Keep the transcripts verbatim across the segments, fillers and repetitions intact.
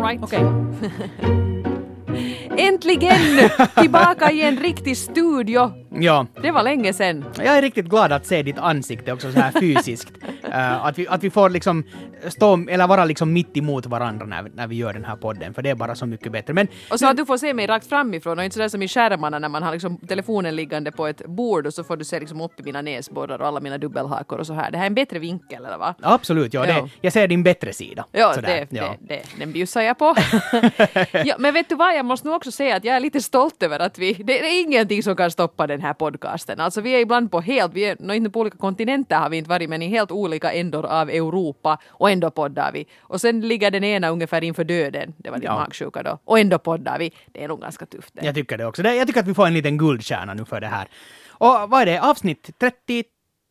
right. Okej. Okay. Äntligen tillbaka i en riktig studio. Ja. Det var länge sedan. Jag är riktigt glad att se ditt ansikte också så här fysiskt. uh, att, vi, att vi får liksom stå, eller vara liksom mitt emot varandra när, när vi gör den här podden. För det är bara så mycket bättre. Men, och så men, att du får se mig rakt framifrån och inte sådär som i skärmarna när man har liksom telefonen liggande på ett bord och så får du se liksom upp i mina näsborrar och alla mina dubbelhakor och så här. Det här är en bättre vinkel, eller va? Absolut, ja. Det, jag ser din bättre sida. Ja, det, ja. Det, det, den bjussar jag på. Ja, men vet du vad, jag måste nog också säga att jag är lite stolt över att vi, det är ingenting som kan stoppa den här podcasten. Alltså vi är ibland på helt, vi är inte på olika kontinenter har vi inte varit, men i helt olika ändor av Europa och ändå poddar vi. Och sen ligger den ena ungefär inför döden, det var din ja. magsjuka då, och ändå poddar vi. Det är nog ganska tufft. Det. Jag tycker det också. Jag tycker att vi får en liten guldstjärna nu för det här. Och vad är det? Avsnitt trettio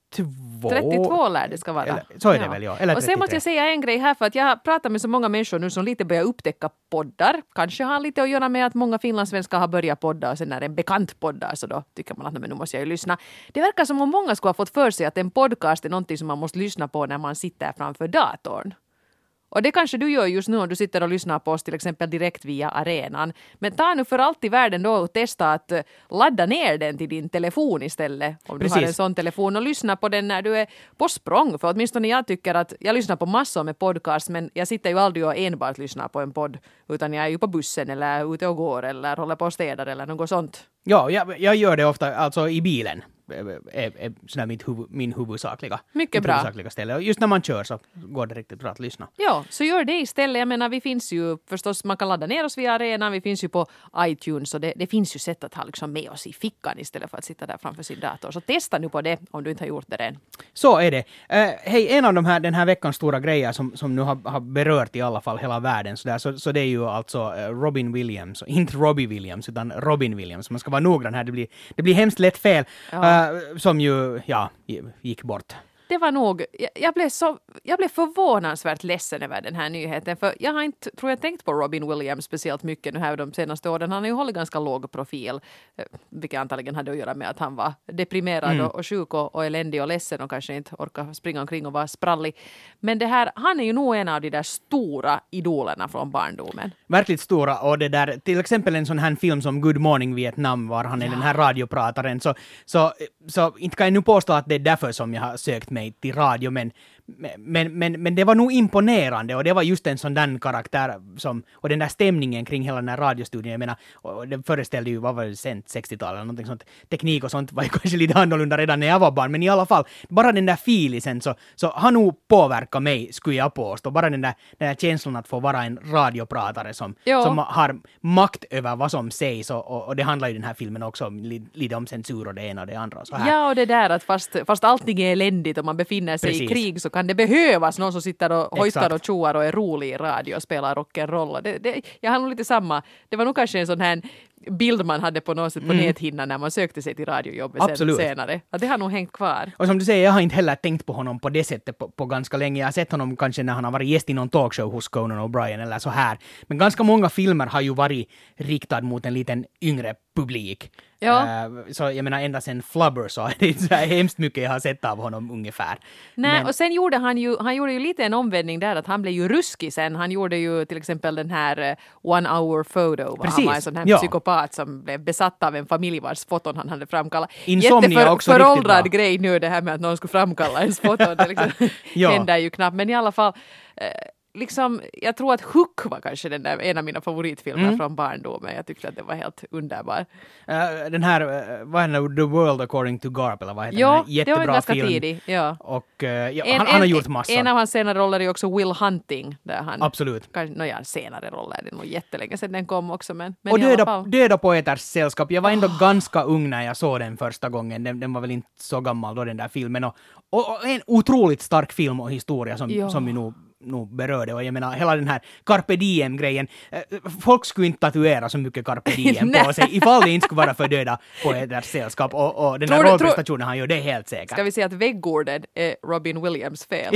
trettiotvå lär det ska vara. Eller, så är det ja. väl, ja. Eller och sen måste jag säga en grej här, för att jag har pratat med så många människor nu som lite börjar upptäcka poddar. Kanske har lite att göra med att många finlandssvenskar har börjat podda och sen när en bekant poddar så då tycker man att men nu måste jag ju lyssna. Det verkar som om många skulle ha fått för sig att en podcast är någonting som man måste lyssna på när man sitter framför datorn. Och det kanske du gör just nu om du sitter och lyssnar på oss till exempel direkt via arenan. Men ta nu för allt i världen då och testa att ladda ner den till din telefon istället. Om Precis. du har en sån telefon och lyssna på den när du är på språng. För åtminstone jag tycker att jag lyssnar på massor med podcast men jag sitter ju aldrig och enbart lyssnar på en podd. Utan jag är ju på bussen eller ute och går eller håller på och städar eller något sånt. Ja, jag, jag gör det ofta alltså i bilen. är, är sådär mitt huvud, min huvudsakliga, Mycket mitt bra. huvudsakliga ställe. Och just när man kör så går det riktigt bra att lyssna. Ja, så gör det istället. Jag menar, vi finns ju förstås, man kan ladda ner oss via arenan, vi finns ju på iTunes och det, det finns ju sätt att ha liksom med oss i fickan istället för att sitta där framför sin dator. Så testa nu på det om du inte har gjort det än. Så är det. Uh, hej, en av de här, den här veckans stora grejer som, som nu har, har berört i alla fall hela världen så, där, så, så det är ju alltså uh, Robin Williams, inte Robbie Williams utan Robin Williams. Man ska vara noggrann här, det blir, det blir hemskt lätt fel. Ja. Uh, som ju, ja, gick bort. Det var nog, jag, jag, blev så, jag blev förvånansvärt ledsen över den här nyheten. För jag har inte, tror jag, tänkt på Robin Williams speciellt mycket nu här de senaste åren. Han har ju hållit ganska låg profil. Vilket antagligen hade att göra med att han var deprimerad mm. och, och sjuk och, och eländig och ledsen och kanske inte orkar springa omkring och vara sprallig. Men det här, han är ju nog en av de där stora idolerna från barndomen. Verkligt stora, och det där, till exempel en sån här film som Good Morning Vietnam var han är ja. den här radioprataren. Så, så, så inte kan jag nu påstå att det är därför som jag har sökt mig till radio, men, men, men, men det var nog imponerande och det var just en sån där karaktär som, och den där stämningen kring hela den här radiostudion, jag menar, och det föreställde ju, vad var det sent, sextiotalet eller någonting sånt, teknik och sånt var ju kanske lite annorlunda redan när jag var barn, men i alla fall, bara den där filisen så, så har nog påverkat mig, skulle jag påstå, bara den där, den där känslan att få vara en radiopratare som, som har makt över vad som sägs och, och, och det handlar ju den här filmen också om, lite om censur och det ena och det andra. Så här. Ja, och det där att fast, fast allting är eländigt och man befinner sig Precis. i krig så kan det behövas någon som sitter och hojtar och tjoar och är rolig i radio och spelar rock'n'roll. Det, det, jag har nog lite samma, det var nog kanske en sån här bild man hade på något sätt på mm. näthinnan när man sökte sig till radiojobbet sen, senare. Att det har nog hängt kvar. Och som du säger, jag har inte heller tänkt på honom på det sättet på, på ganska länge. Jag har sett honom kanske när han har varit gäst i någon talkshow hos Conan O'Brien eller så här. Men ganska många filmer har ju varit riktad mot en liten yngre publik. Ja. Uh, så jag menar ända sen Flubber så är det inte så här hemskt mycket jag har sett av honom ungefär. Nej, Men... och sen gjorde han ju, han gjorde ju lite en omvändning där att han blev ju ruskig sen. Han gjorde ju till exempel den här uh, One Hour Photo. Han var en sån här ja. psykopat som blev besatt av en familj vars foton han hade framkallat. Insomnia också riktigt bra. Jätteföråldrad grej nu det här med att någon skulle framkalla ens foton. Det liksom ja. händer ju knappt. Men i alla fall... Uh, Liksom, jag tror att Hook var kanske den där, en av mina favoritfilmer mm. från barndomen. Jag tyckte att det var helt underbar. Uh, den här, uh, vad är det, The World According to Garp, eller vad heter jo, den här? Jättebra det var ganska film. tidig. Ja. Och uh, ja, en, han, en, han har gjort massa. En av hans senare roller är också Will Hunting. Där han, Absolut. Kanske, no, ja, senare roller, det är nog jättelänge sedan den kom också. Men, men och döda, döda poeters sällskap. Jag var ändå oh. ganska ung när jag såg den första gången. Den, den var väl inte så gammal då, den där filmen. Och, och, och en otroligt stark film och historia som, som vi nog nog berörde, och jag menar hela den här Carpe Diem-grejen, folk skulle inte tatuera så mycket Carpe Diem på sig ifall det inte skulle vara för döda på ett sällskap, och, och den här rollprestationen han gör, det är helt säkert. Ska vi säga att väggorden är Robin Williams fel?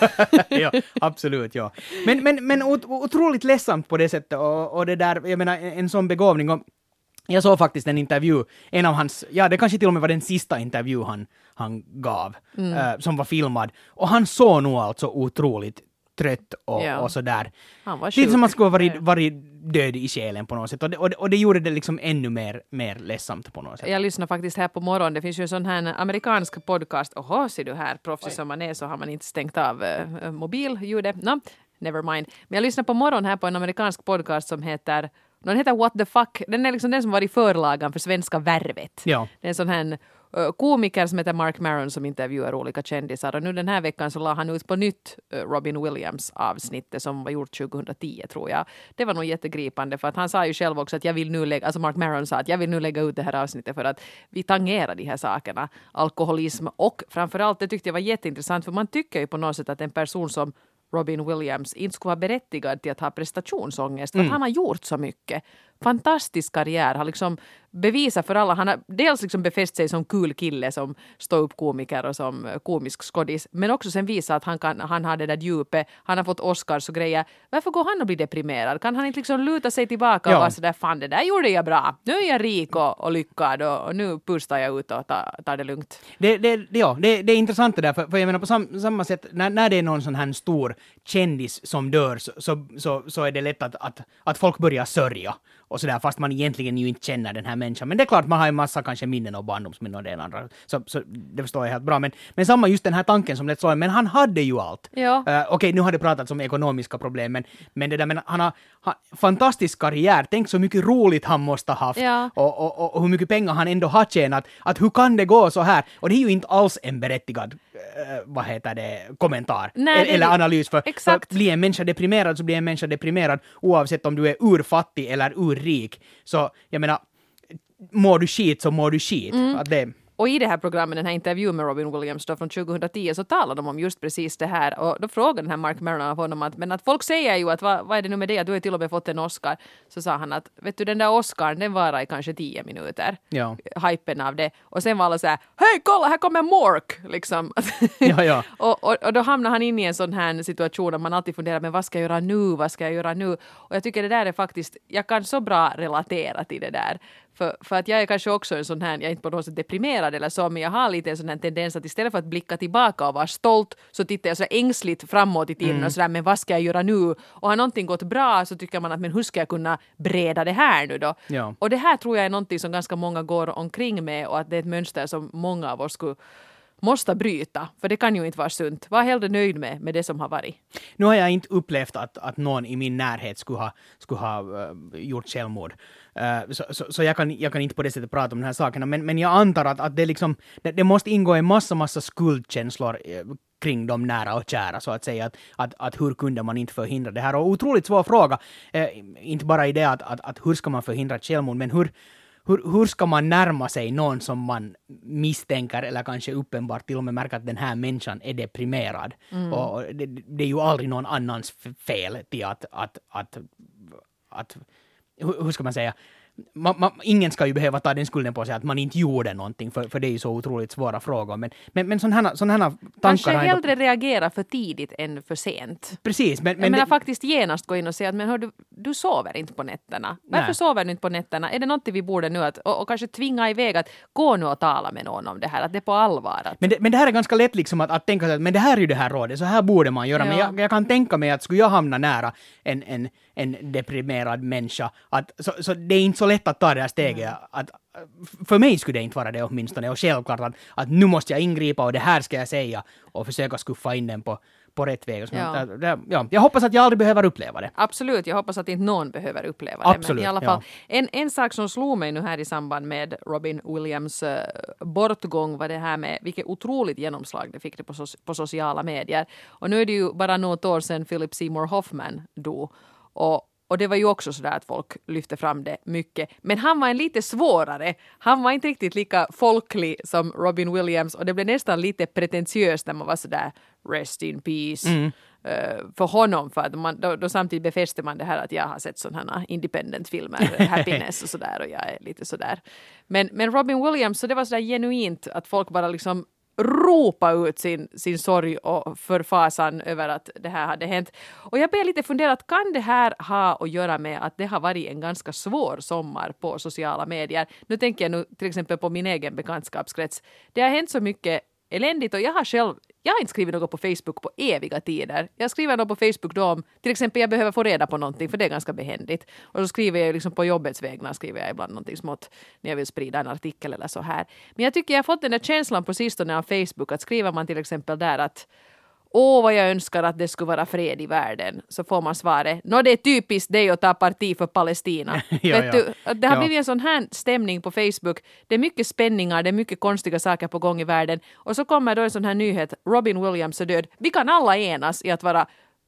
Ja, absolut, ja. Men, men, men otroligt ledsamt på det sättet, och, och det där, jag menar en sån begåvning, och jag såg faktiskt en intervju, en av hans, ja det kanske till och med var den sista intervju han, han gav, mm. uh, som var filmad, och han såg nog alltså otroligt trött och, Ja. och sådär. Han var Lite sjuk. som man skulle ha varit, varit död i själen på något sätt. Och det, och det, och det gjorde det liksom ännu mer, mer ledsamt på något sätt. Jag lyssnar faktiskt här på morgonen. Det finns ju en sån här amerikansk podcast. Oho, ser du här, proffsig som man är så har man inte stängt av uh, mobilljudet. No, never mind. Men jag lyssnar på morgonen här på en amerikansk podcast som heter, den heter What the fuck. Den är liksom den som var i förlagan för Svenska Värvet. Ja. Det är en sån här uh, komiker som heter Mark Maron som intervjuar olika kändisar. Och nu den här veckan så la han ut på nytt uh, Robin Williams avsnittet som var gjort tjugohundratio tror jag. Det var nog jättegripande för att han sa ju själv också att jag vill nu lägga, alltså Mark Maron sa att jag vill nu lägga ut det här avsnittet för att vi tangerar de här sakerna. Alkoholism och framförallt det tyckte jag var jätteintressant för man tycker ju på något sätt att en person som Robin Williams inte skulle vara berättigad till att ha prestationsångest för att Mm. han har gjort så mycket. Fantastisk karriär, har liksom bevisat för alla. Han har dels liksom befäst sig som kul kille, som stå-upp-komiker och som komisk skådis, men också sen visa att han, kan, han har det där djupet, han har fått Oscars och grejer. Varför går han och blir deprimerad? Kan han inte liksom luta sig tillbaka Ja. och vara sådär, fan det där gjorde jag bra. Nu är jag rik och, och lyckad och, och nu pustar jag ut och tar, tar det lugnt. Det, det, det, ja, det, det är intressant det där, för, för jag menar på sam, samma sätt, när, när det är någon sån här stor kändis som dör så, så, så, så är det lätt att, att, att folk börjar sörja och sådär, fast man egentligen ju inte känner den här människan. Men det är klart, man har en massa kanske minnen och barndomsminnen och det ena andra, så, så det förstår jag helt bra. Men, men samma just den här tanken som det slår, men han hade ju allt. Ja. Uh, Okej, okay, nu har det pratats om ekonomiska problem, men, men det där, men han har, har fantastisk karriär, tänk så mycket roligt han måste ha haft Ja. och, och, och, och hur mycket pengar han ändå har tjänat, att hur kan det gå så här? Och det är ju inte alls en berättigad uh, vad heter det, kommentar Nej, det- eller analys, för, Exakt. för blir en människa deprimerad så blir en människa deprimerad oavsett om du är urfattig eller urrik. Så jag menar, mår du skit så mår du skit. Att det, Och i det här programmet, den här intervjun med Robin Williams då från tjugohundratio så talade de om just precis det här. Och då frågade den här Mark Maron av honom att, men att folk säger ju att vad, vad är det nu med det? Du har till och med fått en Oscar. Så sa han att, vet du den där Oscarn den varar i kanske tio minuter. Ja. Hypen av det. Och sen var alla så här, hej kolla här kommer Mork! Liksom. Ja, ja. och, och, och då hamnar han in i en sån här situation där man alltid funderar, men vad ska jag göra nu? Vad ska jag göra nu? Och jag tycker det där är faktiskt, jag kan så bra relatera till det där. För, för att jag är kanske också en sån här, jag är inte på något sätt deprimerad eller så, men jag har lite en sån här tendens att istället för att blicka tillbaka och vara stolt så tittar jag så ängsligt framåt i tiden mm. och sådär, men vad ska jag göra nu? Och har någonting gått bra så tycker man att, men hur ska jag kunna breda det här nu då? Ja. Och det här tror jag är någonting som ganska många går omkring med och att det är ett mönster som många av oss skulle måste bryta, för det kan ju inte vara sunt. Var hellre nöjd med, med det som har varit. Nu har jag inte upplevt att, att någon i min närhet skulle ha, skulle ha uh, gjort självmord. Uh, så så, så jag, kan, jag kan inte på det sättet prata om de här sakerna. Men, men jag antar att, att det, liksom, det, det måste ingå en massa, massa skuldkänslor uh, kring de nära och kära, så att säga. Att, att, att hur kunde man inte förhindra det här? Och otroligt svår fråga. Uh, inte bara i det att, att, att hur ska man förhindra ett självmord, men hur Hur, hur ska man närma sig någon som man misstänker eller kanske uppenbart till och med märker att den här människan är deprimerad? Mm. Och det, det är ju aldrig någon annans fel till att, att, att, att hur, hur ska man säga? Man, man, ingen ska ju behöva ta den skulden på sig att man inte gjorde någonting, för, för det är ju så otroligt svåra frågor. Men, men, men sådana här, sån här tankar... Kanske har hellre ändå... reagera för tidigt än för sent. Precis. Men, Men men jag menar det... faktiskt genast gå in och säga att men hör du, du sover inte på nätterna. Varför Nej. sover du inte på nätterna? Är det något vi borde nu att, och, och kanske tvinga iväg att gå nu och tala med någon om det här, att det är på allvar. Att... Men, det, men det här är ganska lätt liksom att, att tänka sig att men det här är ju det här rådet, så här borde man göra. Ja. Men jag, jag kan tänka mig att skulle jag hamna nära en, en, en deprimerad människa, att, så, så det är inte så lätt att ta det här steget. Mm. Att, för mig skulle det inte vara det åtminstone. Och självklart att, att nu måste jag ingripa och det här ska jag säga och försöka skuffa in den på, på rätt väg. Ja. Det, det, ja. Jag hoppas att jag aldrig behöver uppleva det. Absolut, jag hoppas att inte någon behöver uppleva det. Absolut, Men i alla fall, ja. en, en sak som slog mig nu här i samband med Robin Williams uh, bortgång var det här med vilket otroligt genomslag det fick det på, so- på sociala medier. Och nu är det ju bara något år sedan Philip Seymour Hoffman dog. Och Och det var ju också sådär att folk lyfte fram det mycket. Men han var en lite svårare. Han var inte riktigt lika folklig som Robin Williams. Och det blev nästan lite pretentiöst när man var sådär rest in peace. Mm. Uh, för honom. För att man, då, då samtidigt befäste man det här att jag har sett sådana independent-filmer, Happiness och sådär. Och jag är lite sådär. Men, men Robin Williams, så det var sådär genuint att folk bara liksom ropa ut sin, sin sorg och förfasan över att det här hade hänt. Och jag blev lite funderat, kan det här ha att göra med att det har varit en ganska svår sommar på sociala medier? Nu tänker jag nu till exempel på min egen bekantskapskrets. Det har hänt så mycket eländigt och jag har själv jag har inte skrivit något på Facebook på eviga tider. Jag skriver något på Facebook då om, till exempel jag behöver få reda på någonting, för det är ganska behändigt. Och så skriver jag liksom på jobbets vägnar, skriver jag ibland någonting smått när jag vill sprida en artikel eller så här. Men jag tycker jag har fått den där känslan på sistone av Facebook, att skriver man till exempel där att åh, vad jag önskar att det skulle vara fred i världen, så får man svaret, nå det är typiskt dig att ta parti för Palestina. ja, Vet ja. du, det har ja. blivit en sån här stämning på Facebook. Det är mycket spänningar, det är mycket konstiga saker på gång i världen. Och så kommer då en sån här nyhet, Robin Williams är död. Vi kan alla enas i att vara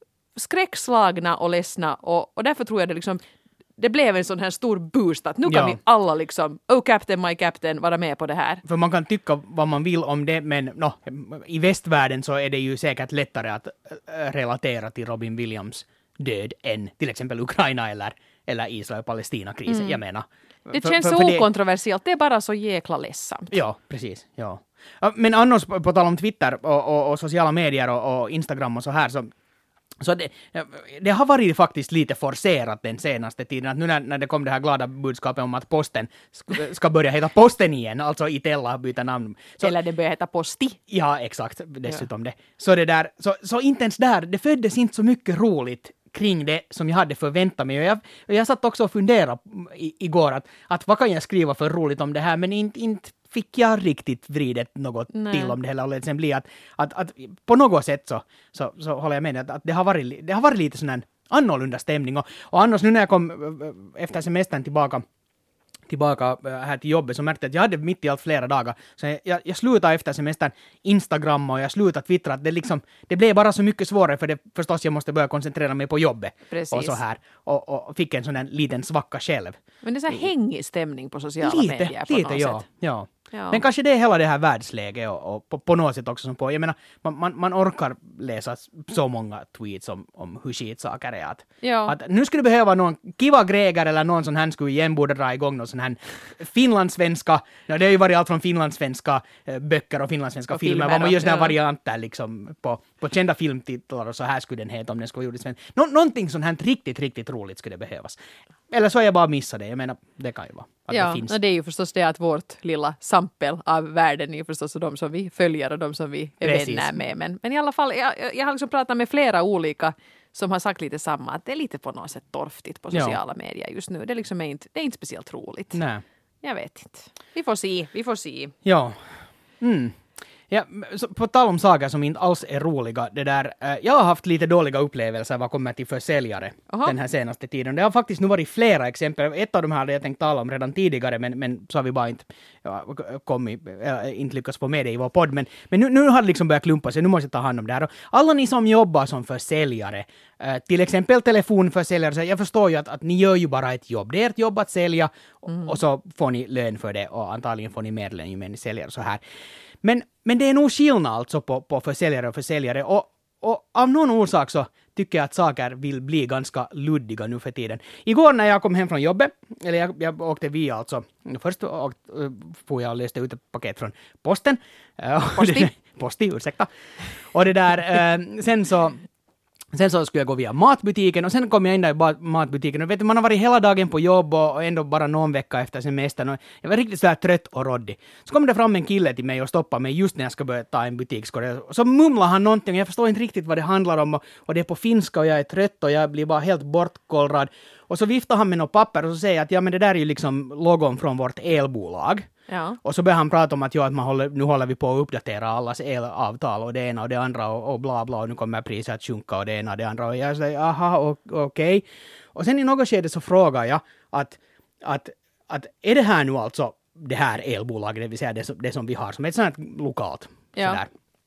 skräckslagna och ledsna. Och, och därför tror jag det liksom, det blev en sån här stor boost att nu kan Ja. vi alla liksom, oh captain, my captain, vara med på det här. För man kan tycka vad man vill om det, men no, i västvärlden så är det ju säkert lättare att äh, relatera till Robin Williams död än till exempel Ukraina eller, eller Israel-Palestina-krisen. Mm. Jag menar. Det för, känns för, så för okontroversiellt, det är bara så jäkla ledsamt. Ja, precis. Ja. Men annars, på, på tal om Twitter och, och, och sociala medier och, och Instagram och så här, så Så det, det har varit faktiskt lite forcerat den senaste tiden. Att nu när, när det kom det här glada budskapet om att posten ska, ska börja heta posten igen, alltså Itella byter namn. Så, Eller det börjar heta Posti. Ja, exakt. Dessutom ja. det. Så det där, så, så inte ens där, det föddes inte så mycket roligt kring det som jag hade förväntat mig. Och jag, och jag satt också och funderade i, igår att, att vad kan jag skriva för roligt om det här, men inte, inte fick jag riktigt vridet något Nej. till om det hela. Och sen blir att, att, att på något sätt så, så, så håller jag med att, att det, har varit, det har varit lite sån här annorlunda stämning. Och, och annars nu när jag kom efter semestern tillbaka tillbaka här till jobbet så märkte jag att jag hade mitt i allt flera dagar. Så jag, jag, jag slutade efter semestern Instagram och jag slutade twittra. Det, liksom, det blev bara så mycket svårare för det förstås jag måste börja koncentrera mig på jobbet. Precis. Och så här. Och, och fick en sån här liten svacka själv. Men det är så här hängig stämning på sociala lite, medier på lite, något ja, sätt. ja. Ja. Men kanske det är hela det här världsläget och, och på, på något sätt också som på. Jag menar, man, man, man orkar läsa så många tweets om, om hur skitsaker är. Att, Ja. att nu skulle det behöva någon Kiva Greger eller någon sån här skulle igen borde dra igång någon sån här finlandssvenska. Ja, det har ju varit allt från finlandssvenska eh, böcker och finlandssvenska och filmer. filmer Vad man gör såna här ja. varianter liksom på, på kända filmtitlar och så här skulle den heta om den skulle vara gjord i svenska. Nå, någonting sånt här riktigt, riktigt roligt skulle det behövas. Eller så har jag bara missat det. Jag menar, det kan ju vara. Att Ja, det finns. och det är ju förstås det att vårt lilla sampel av världen är ju förstås de som vi följer och de som vi är Precis. vänner med. Men, men i alla fall, jag, jag har liksom pratat med flera olika som har sagt lite samma, att det är lite på något sätt torftigt på sociala ja. medier just nu. Det, liksom är inte, det är inte speciellt roligt. Nej. Jag vet inte. Vi får se, vi får se. Ja. Mm. Ja, så på tal om saker som inte alls är roliga, det där, eh, jag har haft lite dåliga upplevelser vad kommer till försäljare Aha. den här senaste tiden. Det har faktiskt nu varit flera exempel. Ett av dem hade jag tänkt tala om redan tidigare, men, men så har vi bara inte ja, kommit, äh, inte lyckats få med det i vår podd. Men, men nu, nu har det liksom börjat klumpa sig, nu måste jag ta hand om det här. Och alla ni som jobbar som försäljare, eh, till exempel telefonförsäljare, så jag förstår ju att, att ni gör ju bara ett jobb. Det är ett jobb att sälja mm. och, och så får ni lön för det och antagligen får ni mer lön ju mer ni säljer så här. Men, men det är nog skillnad alltså på, på försäljare och försäljare och, och av någon orsak så tycker jag att saker vill bli ganska luddiga nu för tiden. Igår när jag kom hem från jobbet, eller jag, jag åkte via alltså, först åkte, får jag och löste ut ett paket från posten. Posti? Posti, ursäkta. Och det där, sen så Sen så skulle jag gå via matbutiken och sen kom jag in där i matbutiken och vet du, man har varit hela dagen på jobb och ändå bara någon vecka efter semestern och jag var riktigt så här trött och råddig. Så kom det fram en kille till mig och stoppade mig just när jag ska börja ta en butikskorg. Och så mumlade han någonting och jag förstår inte riktigt vad det handlar om och, och det är på finska och jag är trött och jag blir bara helt bortkollrad. Och så viftar han med något papper och så säger att ja men det där är ju liksom logon från vårt elbolag. Ja. Och så börjar han prata om att, ja, att man håller, nu håller vi på att uppdatera allas elavtal och det ena och det andra och, och bla bla och nu kommer priset att sjunka och det ena och det andra och jag säger aha okej. Okay. Och sen i något skede så frågar jag att, att, att är det här nu alltså det här elbolaget, det vill säga det som, det som vi har som ett sånt här lokalt ja. sådär.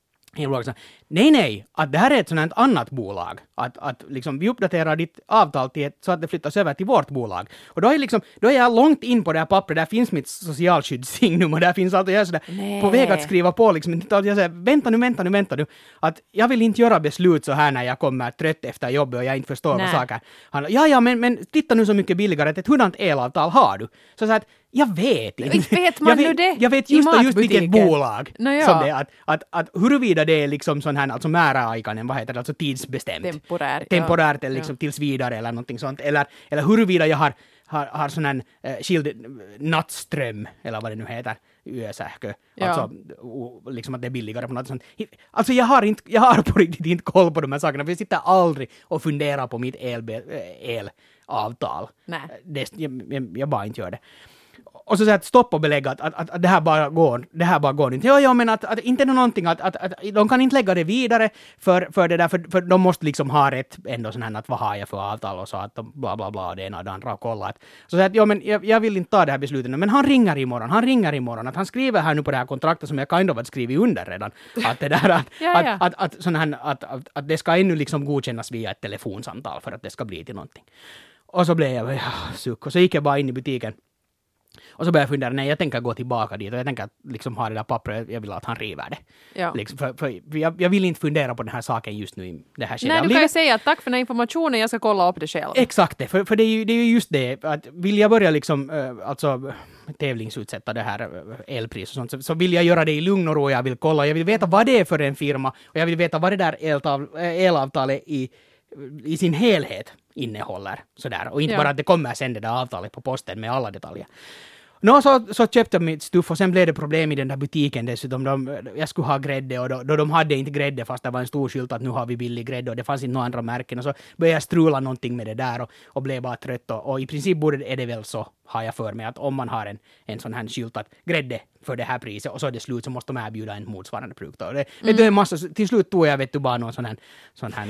Nej, nej, att det här är ett sådant annat bolag. Att, att liksom vi uppdaterar ditt avtal till ett, så att det flyttas över till vårt bolag. Och då är, liksom, då är jag långt in på det här pappret, där finns mitt socialskyddssignum och där finns allt och jag är sådär på väg att skriva på liksom. Jag säger, vänta nu, vänta nu, vänta nu. Att jag vill inte göra beslut så här när jag kommer trött efter jobbet och jag inte förstår nej. vad saker handlar. Ja, ja, men, men titta nu så mycket billigare, att ett hurdant elavtal har du? Så, så att jag vet inte. Inte vet man jag vet, nu det jag vet just, just vilket bolag no, ja. som det är. Att, att, att huruvida det är liksom sån här, alltså määräaikainen, vad heter det, alltså tidsbestämt. Temporär. Temporärt ja. eller liksom ja. tills vidare eller någonting sånt. Eller, eller huruvida jag har, har, har sån här eh, skild nattström, eller vad det nu heter. yösähkö. Ja. Alltså, o, liksom att det är billigare på något sånt. Alltså jag har, inte, jag har på riktigt inte koll på de här sakerna, för jag sitter aldrig och funderar på mitt elbe, elavtal. Nej. Det, jag, jag, jag bara inte gör det. Och så säger att stopp och belägga att, att, att, att det här bara går, det här bara går inte. Ja, ja, men att, att inte är det någonting att, att, att de kan inte lägga det vidare för, för det där, för, för de måste liksom ha rätt ändå sån här att vad har jag för avtal och så att de bla bla bla det ena och det andra och kolla att, så säger att ja, men jag, jag vill inte ta det här beslutet nu, men han ringer imorgon, han ringer imorgon, att han skriver här nu på det här kontraktet som jag kind of har skrivit under redan, att det där att, ja, ja. Att, att, att, sån här, att, att, att det ska ännu liksom godkännas via ett telefonsamtal för att det ska bli till någonting. Och så blev jag, ja, suck, och så gick jag bara in i butiken. Och så började jag fundera, nej jag tänker gå tillbaka dit och jag tänker liksom ha det där pappret, jag vill att han river det. Ja. Liksom, för, för jag, jag vill inte fundera på den här saken just nu i det här skedet. Nej, du kan ju säga att tack för den här informationen, jag ska kolla upp det själv. Exakt det, för, för det, är ju, det är ju just det, att vill jag börja liksom, äh, alltså tävlingsutsätta det här äh, elpris och sånt, så, så vill jag göra det i lugn och ro, jag vill kolla, jag vill veta vad det är för en firma och jag vill veta vad det där eltav, elavtalet i, i sin helhet innehåller. Sådär. Och inte ja. bara att det kommer sen det där avtalet på posten med alla detaljer. Nå, så, så köpte jag mitt stuff och sen blev det problem i den där butiken dessutom. De, jag skulle ha grädde och då, då de hade inte grädde fast det var en stor skylt att nu har vi billig grädde och det fanns inte några andra märken. Och så började jag strula någonting med det där och, och blev bara trött. Och, och i princip borde, är det väl så, har jag för mig, att om man har en, en sån här skylt att grädde för det här priset och så är det slut så måste de erbjuda en motsvarande produkt. Och det, mm. det är massa, till slut tog jag vet du bara någon sån här, sån här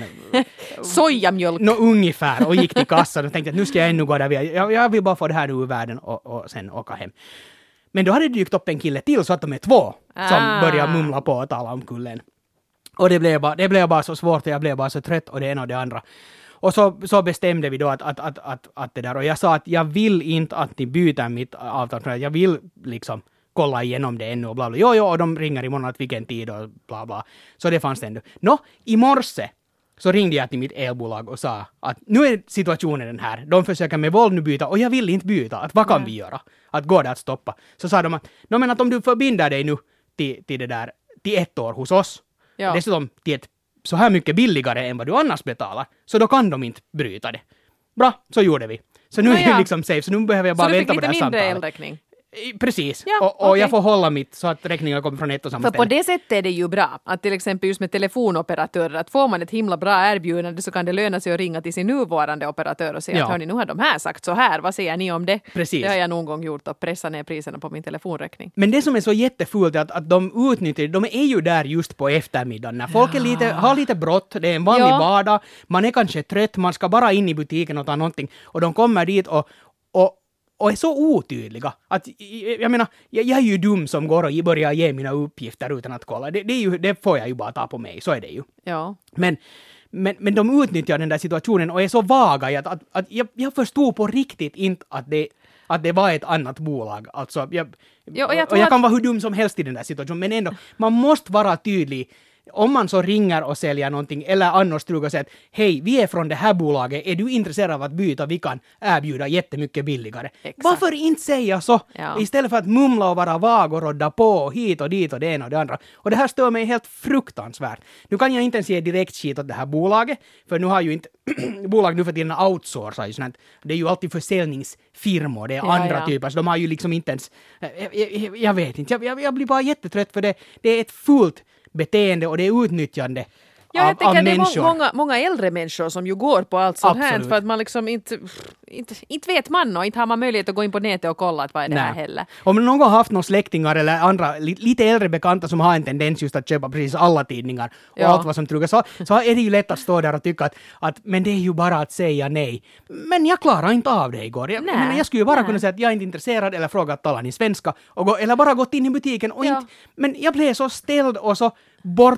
sojamjölk. Nå, ungefär och gick till kassan och tänkte att nu ska jag ännu gå där. Jag, jag vill bara få det här ur världen och, och sen åka hem. Men då hade det dykt upp en kille till så att de är två som ah. började mumla på och tala om kullen. Och det blev, bara, det blev bara så svårt och jag blev bara så trött och det ena och det andra. Och så, så bestämde vi då att, att, att, att, att det där, och jag sa att jag vill inte att ni byter mitt avtal, jag vill liksom kolla igenom det ännu och bla bla. Jo, jo, och de ringer imorgon att vilken tid och bla bla. Så det fanns det ändå. Nå, i morse så ringde jag till mitt elbolag och sa att nu är situationen den här. De försöker med våld nu byta och jag vill inte byta. Att vad kan mm. vi göra? Att går det att stoppa? Så sa de att, no, men att om du förbinder dig nu till, till det där, till ett år hos oss, ja. dessutom till ett så här mycket billigare än vad du annars betalar, så då kan de inte bryta det. Bra, så gjorde vi. Så nu no, är det liksom safe, så nu behöver jag bara vänta på det här samtalet. Så du fick lite mindre elräkning? Precis, ja, och, och okay. jag får hålla mitt så att räkningen kommer från ett och samma För ställe. på det sättet är det ju bra, att till exempel just med telefonoperatörer, att får man ett himla bra erbjudande så kan det löna sig att ringa till sin nuvarande operatör och säga ja. att hörni, nu har de här sagt så här, vad säger ni om det? Precis. Det har jag någon gång gjort och pressa ner priserna på min telefonräkning. Men det som är så jättefult är att, att de utnyttjar, de är ju där just på eftermiddagen när folk ja. är lite, har lite brått, det är en vanlig ja. vardag, man är kanske trött, man ska bara in i butiken och ta någonting och de kommer dit och, och Och är så otydliga. Att, jag menar, jag, jag är ju dum som går och börjar ge mina uppgifter utan att kolla. Det, det, är ju, det får jag ju bara ta på mig, så är det ju. Ja. Men, men, men de utnyttjar den där situationen och är så vaga att, att, att jag, jag förstod på riktigt inte att det, att det var ett annat bolag. Alltså, jag, jo, och jag, och jag kan att... vara hur dum som helst i den där situationen, men ändå, man måste vara tydlig. Om man så ringer och säljer någonting eller annars trugar och säger att hej, vi är från det här bolaget, är du intresserad av att byta, vi kan erbjuda jättemycket billigare. Exakt. Varför inte säga så? Ja. Istället för att mumla och vara vag och rodda på hit och dit och det ena och det andra. Och det här stör mig helt fruktansvärt. Nu kan jag inte ens ge direkt skit åt det här bolaget, för nu har ju inte bolag nu för tiden outsourcar ju sånt. Det är ju alltid försäljningsfirmor, det är ja, andra ja. typer, så de har ju liksom inte ens, jag, jag, jag vet inte, jag, jag blir bara jättetrött för det, det är ett fullt beteende och det är utnyttjande ja, av, jag tänker av det är människor. Många, många äldre människor som ju går på allt sånt här för att man liksom inte, inte, inte vet man och inte har man möjlighet att gå in på nätet och kolla att vad är det Nej. här heller. Om någon har haft några släktingar eller andra lite äldre bekanta som har en tendens just att köpa precis alla tidningar och ja. allt vad som trugar så, så är det ju lätt att stå där och tycka att, att men det är ju bara att säga nej. Men jag klarar inte av det igår. Jag, jag, menar, jag skulle ju bara Nej. kunna säga att jag är inte intresserad eller fråga att tala ni svenska och gå, eller bara gått in i butiken och ja. inte, men jag blev så ställd och så bort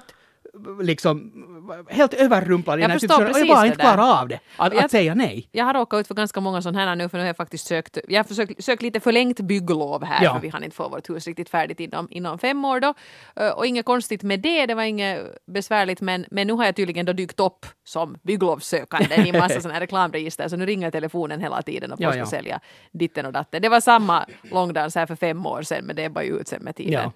liksom helt överrumplad i den här situationen och jag bara inte klarar av det, att, jag, att säga nej. Jag har råkat ut för ganska många sådana här nu för nu har jag faktiskt sökt, jag har försökt, sökt lite förlängt bygglov här ja. för vi hann inte få vårt hus riktigt färdigt inom, inom fem år då och inget konstigt med det, det var inget besvärligt men, men nu har jag tydligen då dykt upp som bygglovssökande i en massa sådana här reklamregister så nu ringer telefonen hela tiden och folk ska ja, ja. sälja ditten och datten. Det var samma långdans här för fem år sedan men det är bara ut sen med tiden. Ja.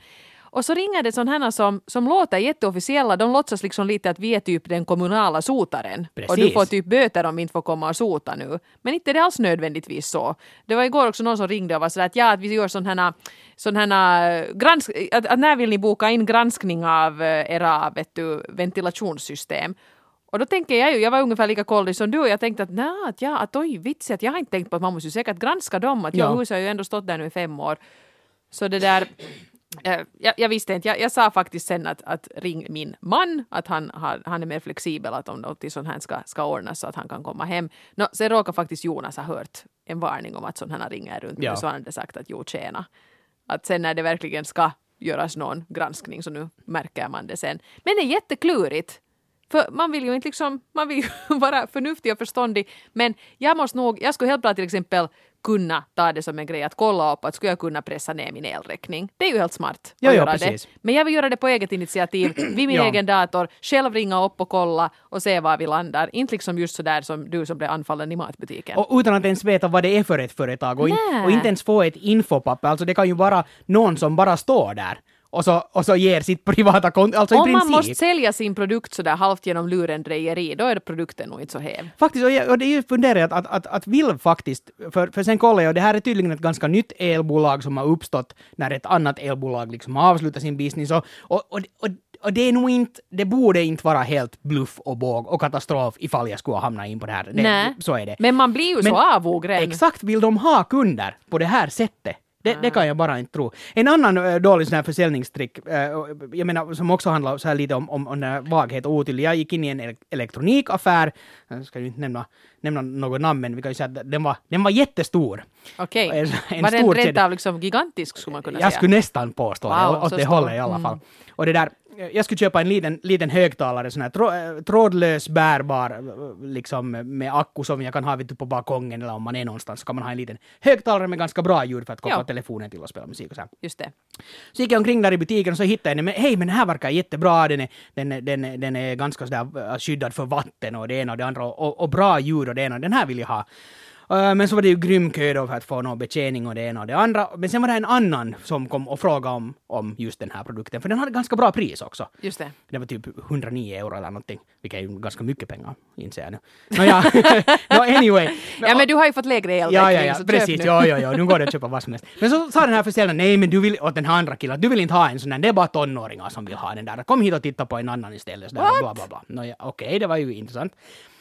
Och så ringer det sådana som, som låter jätteofficiella. De låtsas liksom lite att vi är typ den kommunala sotaren. Precis. Och du får typ böter om vi inte får komma och sota nu. Men inte det alls nödvändigtvis så. Det var igår också någon som ringde och var sådär att ja, att vi gör sån här, sån här gransk, att, att när vill ni boka in granskning av era vet du, ventilationssystem? Och då tänker jag ju, jag var ungefär lika kollig som du och jag tänkte att nej, att, ja, att oj, vits att jag har inte tänkt på att man måste ju säkert granska dem. Att ja. jag huset har ju ändå stått där nu i fem år. Så det där, äh, jag, jag visste inte, jag, jag sa faktiskt sen att, att ring min man, att han, har, han är mer flexibel, att om något sånt här ska, ska ordnas så att han kan komma hem. No, sen råkar faktiskt Jonas ha hört en varning om att sånt här ringer runt ja. Och så har han sagt att jo, tjena. Att sen när det verkligen ska göras någon granskning så nu märker man det sen. Men det är jätteklurigt. För man vill ju inte liksom, man vill ju vara förnuftig och förståndig. Men jag måste nog, jag skulle helt bra till exempel kunna ta det som en grej att kolla upp att skulle jag kunna pressa ner min elräkning. Det är ju helt smart ja, att ja, göra precis. det. Men jag vill göra det på eget initiativ, vid min ja. egen dator, själv ringa upp och kolla och se var vi landar. Inte liksom just så där som du som blev anfallen i matbutiken. Och utan att ens veta vad det är för ett företag och, in, och inte ens få ett infopapper. Alltså det kan ju vara någon som bara står där. Och så, och så ger sitt privata konto, alltså om i princip. man måste sälja sin produkt så där halvt genom lurendrejeri, då är det produkten nog inte så häv. Faktiskt, och, jag, och det är ju funderat att, att, att vill faktiskt, för, för sen kollar jag, och det här är tydligen ett ganska nytt elbolag som har uppstått när ett annat elbolag liksom har avslutat sin business. Och, och, och, och, och det är nog inte, det borde inte vara helt bluff och båg och katastrof ifall jag skulle hamna in på det här. Det, Nej, så är det. Men man blir ju Men så avogren. Exakt, vill de ha kunder på det här sättet? Det, det kan jag bara inte tro. En annan äh, dålig sån här försäljningstrick, äh, jag menar, som också handlar så här lite om, om, om den vaghet och otydlig. Jag gick in i en ele- elektronikaffär, jag ska ju inte nämna, nämna något namn, men vi kan ju säga att den var, den var jättestor. Okej, okay. En var stor den rent av liksom gigantisk skulle man kunna jag säga? Skulle nästan påstå wow, det, åt det hållet i alla fall. Mm. Och det där, jag skulle köpa en liten, liten högtalare, sån här trå, trådlös, bärbar, liksom med akku som jag kan ha vid på balkongen eller om man är någonstans så kan man ha en liten högtalare med ganska bra ljud för att koppla ja. telefonen till och spela musik och så här. Just det. Så gick jag omkring där i butiken och så hittade jag den, men hej, men den här verkar jättebra, den är, den, är, den, är, den är ganska sådär skyddad för vatten och det ena och det andra och, och bra ljud och det ena, den här vill jag ha. Uh, men så var det ju grym kö då för att få någon betjäning och det ena och det andra. Men sen var det en annan som kom och frågade om, om just den här produkten. För den hade ganska bra pris också. Just det. Det var typ hundranio euro eller någonting. Vilket är ju ganska mycket pengar, inser jag nu. No, ja. no, anyway. Ja, men du har ju fått lägre elräkning. Ja, ja, ja. Precis. Ja, ja, ja. Nu går det att köpa vad som helst. Men så sa den här försäljaren, nej, men du vill, åt den här andra killen, du vill inte ha en sån där. Det är bara tonåringar som vill ha den där. Kom hit och titta på en annan istället. Bla, bla, bla, bla. No, ja, okej, okay, det var ju intressant.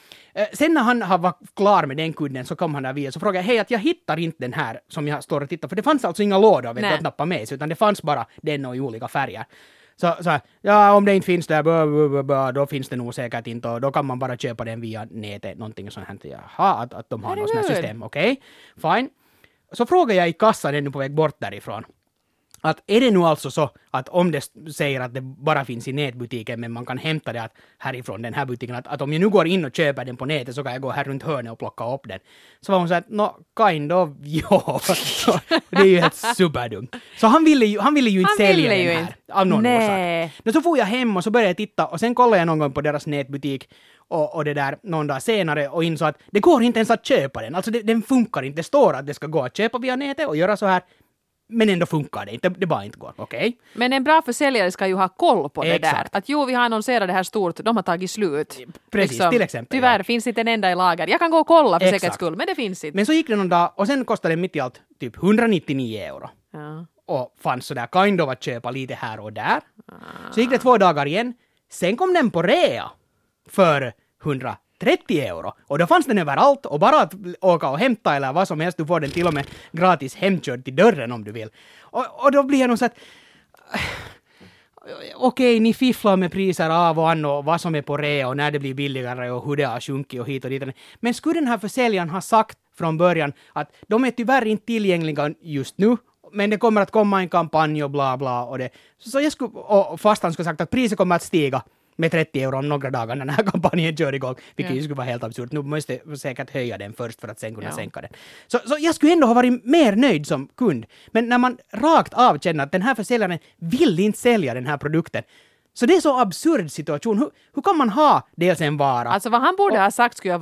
Sen när han var klar med den kunden så kom han där via så frågade jag, hej, att jag hittar inte den här som jag står och tittar, för det fanns alltså inga lådor vet du, att nappa med sig, utan det fanns bara den och i olika färger. Så, så ja, om det inte finns där, blah, blah, blah, då finns det nog säkert inte och då kan man bara köpa den via nätet, någonting sånt här. Jaha, att, att de har något sånt här system, okej, okay, fine. Så frågade jag i kassan ännu på väg bort därifrån. Att är det nu alltså så att om det säger att det bara finns i nätbutiken men man kan hämta det att härifrån den här butiken, att, att om jag nu går in och köper den på nätet så kan jag gå här runt hörnet och plocka upp den. Så var hon så att, no, kind of, ja. Det är ju helt superdumt. Så han ville ju, han ville ju inte han sälja den här inte. Av någon orsak. Men så får jag hem och så började jag titta och sen kollade jag någon gång på deras nätbutik och, och det där någon dag senare och insåg att det går inte ens att köpa den. Alltså det, den funkar inte. Det står att det ska gå att köpa via nätet och göra så här. Men ändå funkar det inte, det bara inte går, okej? Okay? Men en bra försäljare ska ju ha koll på Exakt. det där. Att jo, vi har annonserat det här stort, de har tagit slut. Precis, liksom, till exempel. Tyvärr ja. Finns inte en enda i lager. Jag kan gå och kolla för Exakt. säkerhets skull, men det finns inte. Men så gick det någon dag och sen kostade det mitt i allt typ hundranittionio euro. Ja. Och fanns sådär kind of att köpa lite här och där. Ah. Så gick det två dagar igen. Sen kom den på rea för hundratrettio euro. Och då fanns den överallt och bara att åka och hämta eller vad som helst. Du får den till och med gratis hemkörd till dörren om du vill. Och, och då blir jag nog så att okej, okay, ni fifflar med priser av och an och vad som är på rea och när det blir billigare och hur det har sjunkit och hit och dit. Men skulle den här försäljaren ha sagt från början att de är tyvärr inte tillgängliga just nu, men det kommer att komma en kampanj och bla bla och det. Så jag skulle, och fast han skulle sagt att priset kommer att stiga med trettio euro om några dagar när den här kampanjen kör igång, vilket ju skulle vara helt absurt. Nu måste jag säkert höja den först för att sen kunna ja. sänka den. Så, så jag skulle ändå ha varit mer nöjd som kund. Men när man rakt av känner att den här försäljaren vill inte sälja den här produkten, så det är så absurd situation. Hur, hur kan man ha dels en vara? Alltså vad han borde och, ha sagt skulle ha varit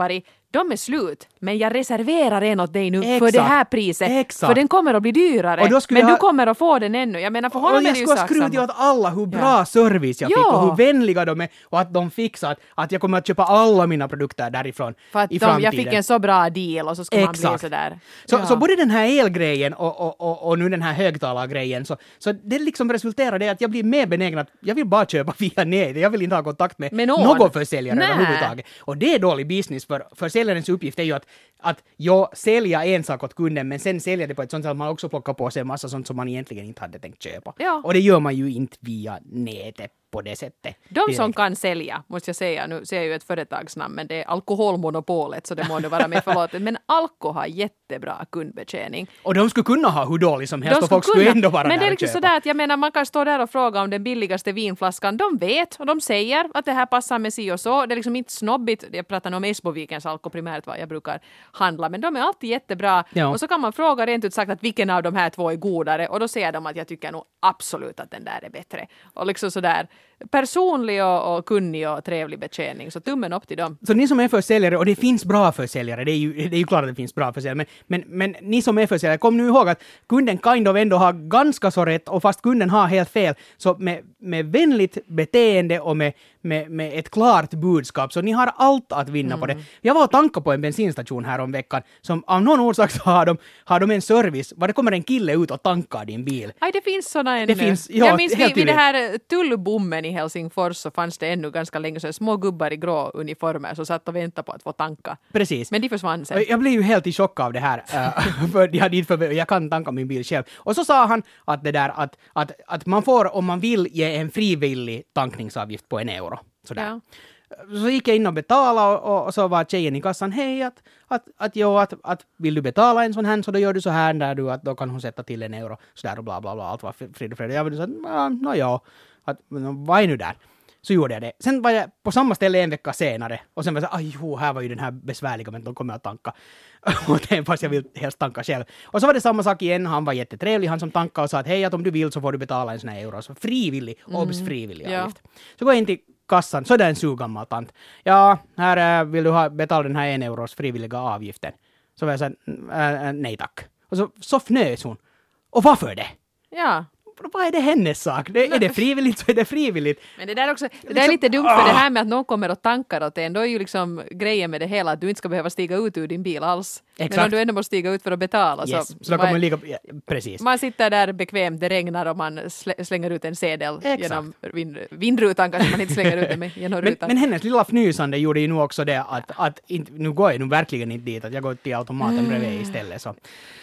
de är slut, men jag reserverar en åt dig nu Exakt. för det här priset. Exakt. För den kommer att bli dyrare, Och då skulle men jag- du kommer att få den ännu. Jag menar, för honom Och är jag det ju skulle sak skruta samma. åt alla hur bra Ja. service jag fick Ja. och hur vänliga de är och att de fixar att, att jag kommer att köpa alla mina produkter därifrån För att i de, framtiden. jag fick en så bra deal och så ska man bli Exakt. sådär. Så, Ja. så både den här elgrejen och, och, och, och nu den här högtalargrejen, så, så det liksom resulterar i att jag blir mer benägen att jag vill bara köpa via nätet. Jag vill inte ha kontakt med, Med någon. någon försäljare Nä. överhuvudtaget. Och det är dålig business, för försäljarens uppgift är ju att, att jag säljer en sak åt kunden, men sen säljer det på ett sånt sätt att man också plockar på sig en massa sånt som man egentligen inte hade tänkt köpa. Ja. Och det gör man ju inte via nätet på det sättet. De som direkt. kan sälja, måste jag säga, nu ser jag ju ett företagsnamn, men det är alkoholmonopolet, så det må nu vara med förlåtet, men Alko har jättebra kundbetjäning. Och de skulle kunna ha hur dåligt som helst De och folk skulle skulle kunna, ändå vara men det där är och liksom köpa. sådär att jag menar, man kan stå där och fråga om den billigaste vinflaskan. De vet och de säger att det här passar med si och så. Det är liksom inte snobbigt. Jag pratar nu om Esbovikens Alko primärt vad jag brukar handla, men de är alltid jättebra. Ja. Och så kan man fråga rent ut sagt att vilken av de här två är godare, och då säger de att jag tycker nog absolut att den där är bättre. Och liksom sådär personlig och, och kunnig och trevlig betjäning. Så tummen upp till dem. Så ni som är försäljare, och det finns bra försäljare, det är ju, det är ju klart att det finns bra försäljare, men, men, men ni som är försäljare, kom nu ihåg att kunden kind of ändå har ganska så rätt, och fast kunden har helt fel, så med, med vänligt beteende och med, med, med ett klart budskap, så ni har allt att vinna Mm. på det. Jag var och tankade på en bensinstation här om veckan, som av någon orsak så har de, har de en service, var det kommer en kille ut och tankar din bil. Aj, det finns såna ännu. Det finns, ja, jag minns helt vid, vid det tydligt. här tullbommen i Helsingfors så fanns det ännu ganska länge sedan små gubbar i grå uniformer som satt och väntade på att få tanka. Precis. Men de försvann sen. Och jag blev ju helt i chock av det här, äh, för jag, hade inte för, jag kan tanka min bil själv. Och så sa han att det där att, att, att man får, om man vill, ge en frivillig tankningsavgift på en euro. Sådär. Ja. Så gick jag in och betalade och, och så var tjejen i kassan, hej, att, att, att, jo, att, att vill du betala en sån här så då gör du så här där du, att då kan hon sätta till en euro. Sådär och bla bla bla, allt var frid och fred. Jag var så att, nå ja, att, vad är nu där? Så gjorde jag det. Sen var jag på samma ställe en vecka senare och sen var jag så aj jo, här var ju den här besvärliga, men de kommer att tanka. Och det, fast jag vill helst tanka själv. Och så var det samma sak igen, han var jättetrevlig, han som tankade och sa att hej, att om du vill så får du betala en sån här euro. Så frivillig, mm. obs frivillig Ja. avgift. Så går jag in till kassan, så är det en sugammal tant. Ja, här äh, vill du ha, betala den här en euros frivilliga avgiften. Så var jag så här, äh, nej tack. Och så, så fnös hon. Och varför det? Ja. Vad är det hennes sak? Det, är det frivilligt så är det frivilligt. Men det där också, det där är Liksom, lite dumt ah. för det här med att någon kommer och tankar åt en. Då är ju liksom grejen med det hela att du inte ska behöva stiga ut ur din bil alls. Exakt. Men om du ändå måste stiga ut för att betala Yes. så, Så då man, kommer lika, ja, precis. man sitter där bekvämt, det regnar och man slä- slänger ut en sedel Exakt. genom vind, vindrutan kanske man inte slänger ut den med genom Men, rutan. men hennes lilla fnysande gjorde ju nu också det att, att inte, nu går jag nu verkligen inte dit, att jag går till automaten Mm. bredvid istället. Så.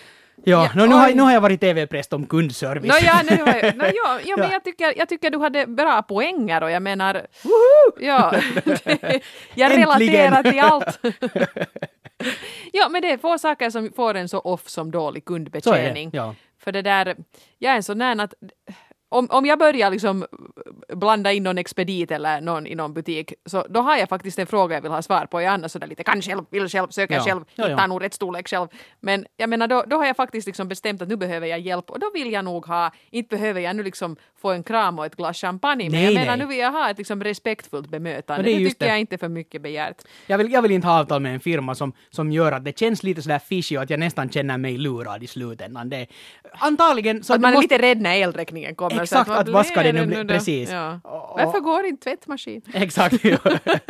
Ja, Ja, no, nu, har, oj. nu har jag varit T V-präst om kundservice. No, ja, nu har jag, no, ja, ja, men Ja. jag tycker, jag tycker du hade bra poänger och jag menar, ja, jag Äntligen. relaterar till allt. Ja, men det är få saker som får en så off som dålig Så är kundbetjäning. det, ja. För det där, jag är en sån där att om, om jag börjar liksom blanda in någon expedit eller någon i någon butik, så då har jag faktiskt en fråga jag vill ha svar på. Jag annars sådär lite kan själv, vill själv, söker Ja. själv, Ja, ja. hittar nog rätt storlek själv. Men jag menar, då, då har jag faktiskt liksom bestämt att nu behöver jag hjälp och då vill jag nog ha, inte behöver jag nu liksom få en kram och ett glas champagne, men Nej, jag menar nej. nu vill jag ha ett liksom respektfullt bemötande. Och det är Det, just tycker det. jag inte är för mycket begärt. Jag vill, jag vill inte ha avtal med en firma som, som gör att det känns lite sådär fishy och att jag nästan känner mig lurad i slutändan. Det, antagligen så Så att man är måste- lite rädd när elräkningen kommer. Exakt, så att, att vad vad ska det blir nu bli? då? Precis. Ja. Och- Varför går inte tvättmaskin? Exakt. Ja.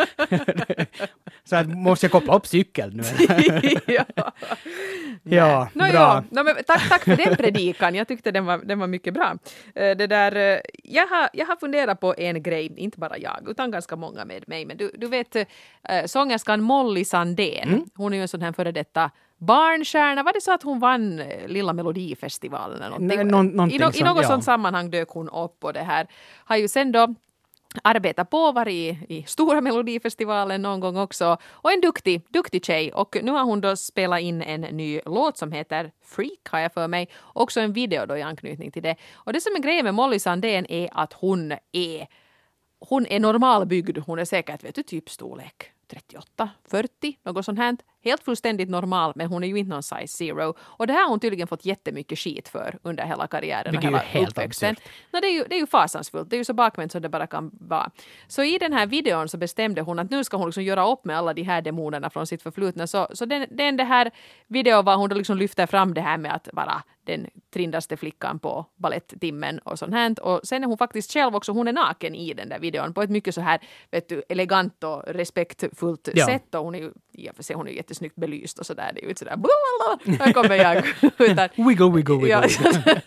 Så att måste jag koppla upp cykeln nu? ja. Ja, No, bra. ja. No, men tack, tack för den predikan. Jag tyckte den var, den var mycket bra. Eh, Det där, eh, jag, har, jag har funderat på en grej, inte bara jag, utan ganska många med mig. Men du, du vet eh, sångerskan Molly Sandén. Mm. Hon är ju en sån här före detta barnstjärna. Var det så att hon vann eh, Lilla Melodifestivalen eller någonting? Nej, någon- någonting I, no, I sånt, något ja. sånt sammanhang dök hon upp och det här har ju sen då arbetat på, varit i, i stora Melodifestivalen någon gång också. Och en duktig, duktig tjej. Och nu har hon då spelat in en ny låt som heter Freak, har jag för mig. Också en video då i anknytning till det. Och det som är grejen med Molly Sandén är att hon är hon är normalbyggd. Hon är säkert, vet du, typ storlek trettioåtta, fyrtio, något sånt här. helt fullständigt normal, men hon är ju inte någon size zero. Och det här har hon tydligen fått jättemycket skit för under hela karriären Vilket och hela är helt uppväxten. No, det, är ju, det är ju fasansfullt, det är ju så bakvänt som det bara kan vara. Så i den här videon så bestämde hon att nu ska hon liksom göra upp med alla de här demonerna från sitt förflutna. Så, så den, den det här videon var hon då liksom lyfter fram det här med att vara den trindaste flickan på balletttimmen och sånt här. Och sen är hon faktiskt själv också, hon är naken i den där videon på ett mycket så här, vet du, elegant och respektfullt ja. sätt. Och hon är ju, ja, för sig, hon är ju jättesnyggt belyst och sådär. Det är ju inte sådär, blablabla, här kommer jag. Utan, wiggle, wiggle, wiggle. Ja.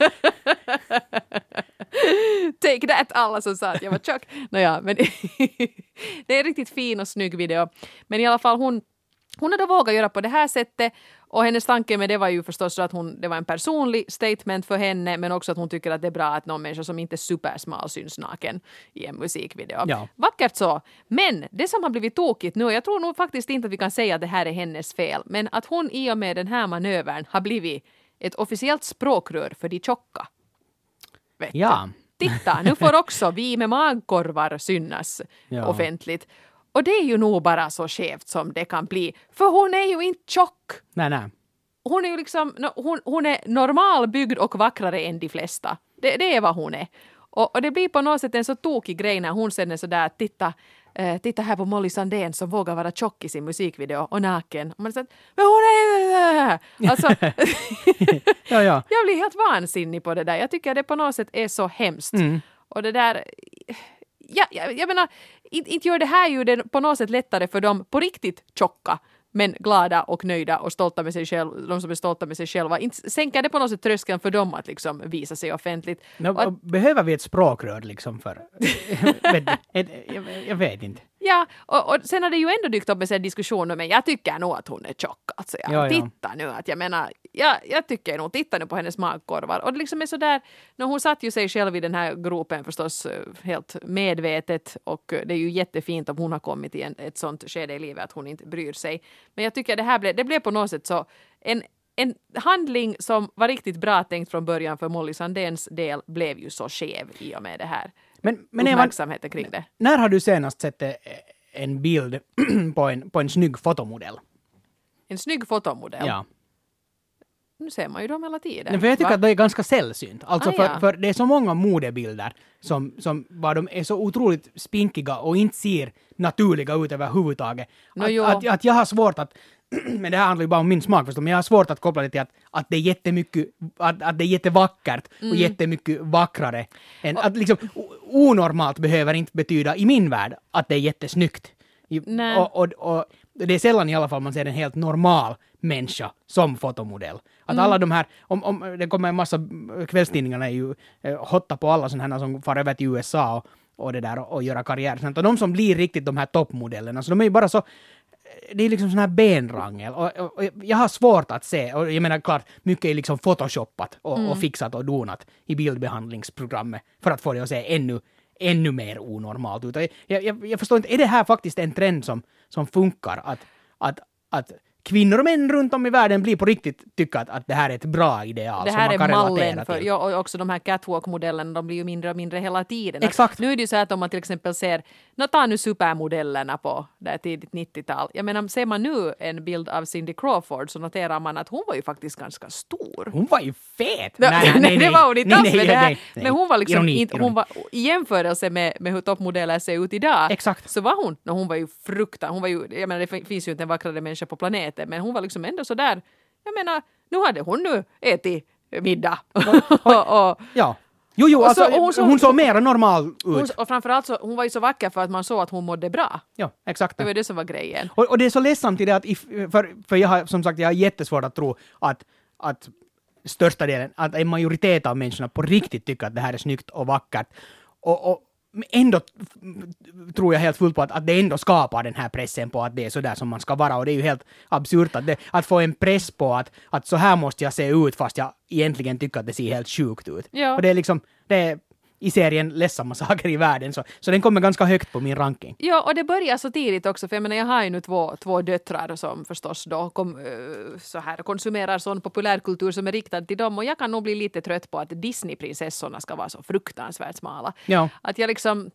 Take that, alla som sa att jag var tjock. Nåja, men det är en riktigt fin och snygg video. Men i alla fall hon Hon hade vågat göra på det här sättet och hennes tanke med det var ju förstås att hon, det var en personlig statement för henne, men också att hon tycker att det är bra att någon människa som inte är supersmal syns naken i en musikvideo. Ja. Vackert så. Men det som har blivit tokigt nu, jag tror nog faktiskt inte att vi kan säga att det här är hennes fel, men att hon i och med den här manövern har blivit ett officiellt språkrör för de tjocka. Vet ja. du? Titta, nu får också vi med magkorvar synas ja. offentligt. Och det är ju nog bara så skevt som det kan bli. För hon är ju inte tjock. Nej, nej. Hon är ju liksom, hon, hon är normalbyggd och vackrare än de flesta. Det, det är vad hon är. Och, och det blir på något sätt en så tokig grej när hon sen är sådär, titta, eh, titta här på Molly Sandén som vågar vara tjock i sin musikvideo och naken. Och man säger, men hon är... Alltså, ja, ja. Jag blir helt vansinnig på det där. Jag tycker att det på något sätt är så hemskt. Mm. Och det där... Ja, jag, jag menar, inte, inte gör det här ju det på något sätt lättare för dem på riktigt tjocka, men glada och nöjda och stolta med sig själva, de som är stolta med sig själva. Inte sänker det på något sätt tröskeln för dem att liksom visa sig offentligt. No, att, behöver vi ett språkrör liksom för... jag, jag, jag vet inte. Ja, och, och sen har det ju ändå dykt upp med en diskussion men jag tycker nog att hon är tjock. Alltså, jag, ja, titta ja. nu, att jag menar, jag, jag tycker nog, titta nu på hennes magkorvar. Och det liksom är sådär, när hon satt ju sig själv i den här gropen förstås helt medvetet och det är ju jättefint om hon har kommit i en, ett sånt skede i livet att hon inte bryr sig. Men jag tycker det här blev, det blev på något sätt så en En handling som var riktigt bra tänkt från början för Molly Sandéns del blev ju så skev i och med det här. Men, men uppmärksamheten kring det. När har du senast sett en bild på en, på en snygg fotomodell? En snygg fotomodell? Ja. Nu ser man ju dem hela tiden. Nej, för jag tycker Va? att det är ganska sällsynt. Alltså ah, för, ja. för det är så många modebilder som, som var de är så otroligt spinkiga och inte ser naturliga ut överhuvudtaget. No, att, att, att jag har svårt att men det här handlar ju bara om min smak förstås, men jag har svårt att koppla det till att, att det är jättemycket, att, att det är jättevackert och mm. jättemycket vackrare. Än, att liksom, onormalt behöver inte betyda i min värld att det är jättesnyggt. Och, och, och det är sällan i alla fall man ser en helt normal människa som fotomodell. Att mm. alla de här, om, om det kommer en massa, kvällstidningarna är ju eh, hotta på alla sådana här som far över till U S A och, och det där och, och göra karriär. Och de som blir riktigt de här toppmodellerna, så de är ju bara så, det är liksom sån här benrangel och, och, och jag har svårt att se, och jag menar klart, mycket är liksom photoshoppat och, mm. och fixat och donat i bildbehandlingsprogrammet för att få det att se ännu, ännu mer onormalt ut. Jag, jag, jag förstår inte, är det här faktiskt en trend som, som funkar? Att, att, att kvinnor och män runt om i världen blir på riktigt tycka att, att det här är ett bra ideal det som man kan relatera relatera till. För, ja, och också de här catwalk-modellerna, de blir ju mindre och mindre hela tiden. Exakt. Att nu är det ju så att om man till exempel ser, nå ta nu supermodellerna på det tidigt nittiotal. Jag menar, ser man nu en bild av Cindy Crawford så noterar man att hon var ju faktiskt ganska stor. Hon var ju fet! Nej, nej, nej, nej det var hon inte alls med det här. Nej, nej. Men hon var liksom, ironi, inte, ironi. hon var i jämförelse med, med hur toppmodeller ser ut idag. Exakt. Så var hon, no, hon var ju fruktan, hon var ju, jag menar det finns ju inte en vackrare människa på planeten, men hon var liksom ändå så där. Jag menar, nu hade hon nu ätit middag. och, och, ja. Jo, jo, och alltså, så, hon, så, hon såg mer normal ut. Hon, och framförallt så, hon var ju så vacker för att man såg att hon mådde bra. Ja, exakt. Det var det som var grejen. Och, och det är så ledsamt i det att, if, för, för jag har som sagt, jag har jättesvårt att tro att, att största delen, att en majoritet av människorna på riktigt tycker att det här är snyggt och vackert. Och, och ändå tror jag helt fullt på att, att det ändå skapar den här pressen på att det är så där som man ska vara, och det är ju helt absurt att, det, att få en press på att, att så här måste jag se ut fast jag egentligen tycker att det ser helt sjukt ut. Ja. Och det är liksom, det är i serien ledsamma saker i världen, så, så den kommer ganska högt på min ranking. Ja, och det börjar så tidigt också, för jag menar, jag har ju nu två, två döttrar som förstås då kom, så här, konsumerar sån populärkultur som är riktad till dem, och jag kan nog bli lite trött på att Disney-prinsessorna ska vara så fruktansvärt smala. Ja. Att jag liksom,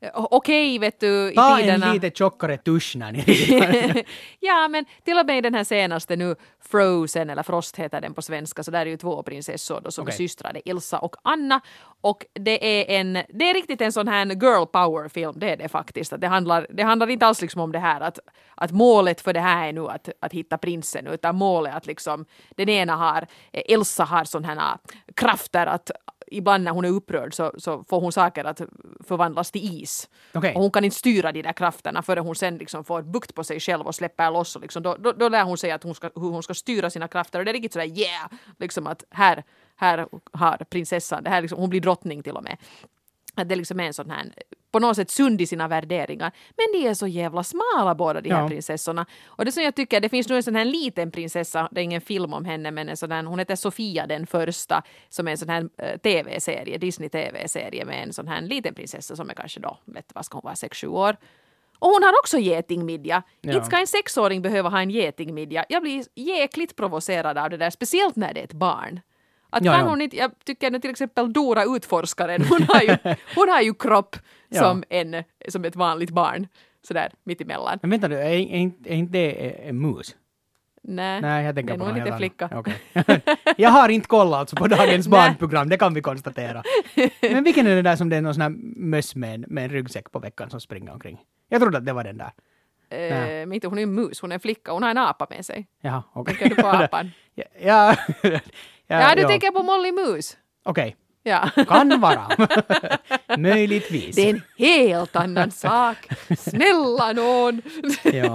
okej, vet du, i Ta tiderna. en lite tjockare tusch när ni Ja, men till och med i den här senaste nu, Frozen, eller Frost heter den på svenska, så där är ju två prinsessor då, som Okej. är systrar, det är Elsa och Anna. Och det är en, det är riktigt en sån här girl power-film, det är det faktiskt. Att det, handlar, det handlar inte alls liksom om det här att, att målet för det här är nu att, att hitta prinsen, utan målet är att liksom, den ena har, Elsa har sån här krafter att ibland när hon är upprörd så, så får hon saker att förvandlas till is. Okej. Och hon kan inte styra de där krafterna förrän hon sen liksom får bukt på sig själv och släpper loss. Och liksom, då, då, då lär hon sig att hon ska, hur hon ska styra sina krafter. Och det är riktigt sådär yeah! Liksom att här, här har prinsessan, det här liksom, hon blir drottning till och med. Att det liksom är en sån här, på något sätt sund i sina värderingar. Men de är så jävla smala båda de här Ja. prinsessorna. Och det som jag tycker, det finns nu en sån här liten prinsessa, det är ingen film om henne, men en sån här, hon heter Sofia den första, som är en sån här uh, tv-serie, Disney-tv-serie med en sån här liten prinsessa som är kanske då, vet vad ska hon vara, sex sju år. Och hon har också getingmidja. Ja. Inte ska en sexåring behöva ha en getingmidja. Jag blir jäkligt provocerad av det där, speciellt när det är ett barn. Att Ja, kan ja. hon inte, jag tycker nu till exempel Dora utforskaren, hon har ju, hon har ju kropp Ja. som, en, som ett vanligt barn. Sådär mittemellan. Men vänta nu, är, är, inte- är inte det en mus? Nej, Nej, jag det tänker är på nog någon lite helt flicka. annan. Okej. Jag har inte kollat alltså på dagens Nej. barnprogram, det kan vi konstatera. Men vilken är det där som det är någon sån här möss med en, med en ryggsäck på veckan som springer omkring? Jag trodde att det var den där. Eh, mitt, hon är en mus, hon är en flicka, hon har en apa med sig. Jaha, okej. Tänker du på apan? ja, ja, ja, Ja, du ja. tänker på Molly Mus. Okej, Ja. kan vara. Möjligtvis. Det är en helt annan sak. Snälla nån. Ja.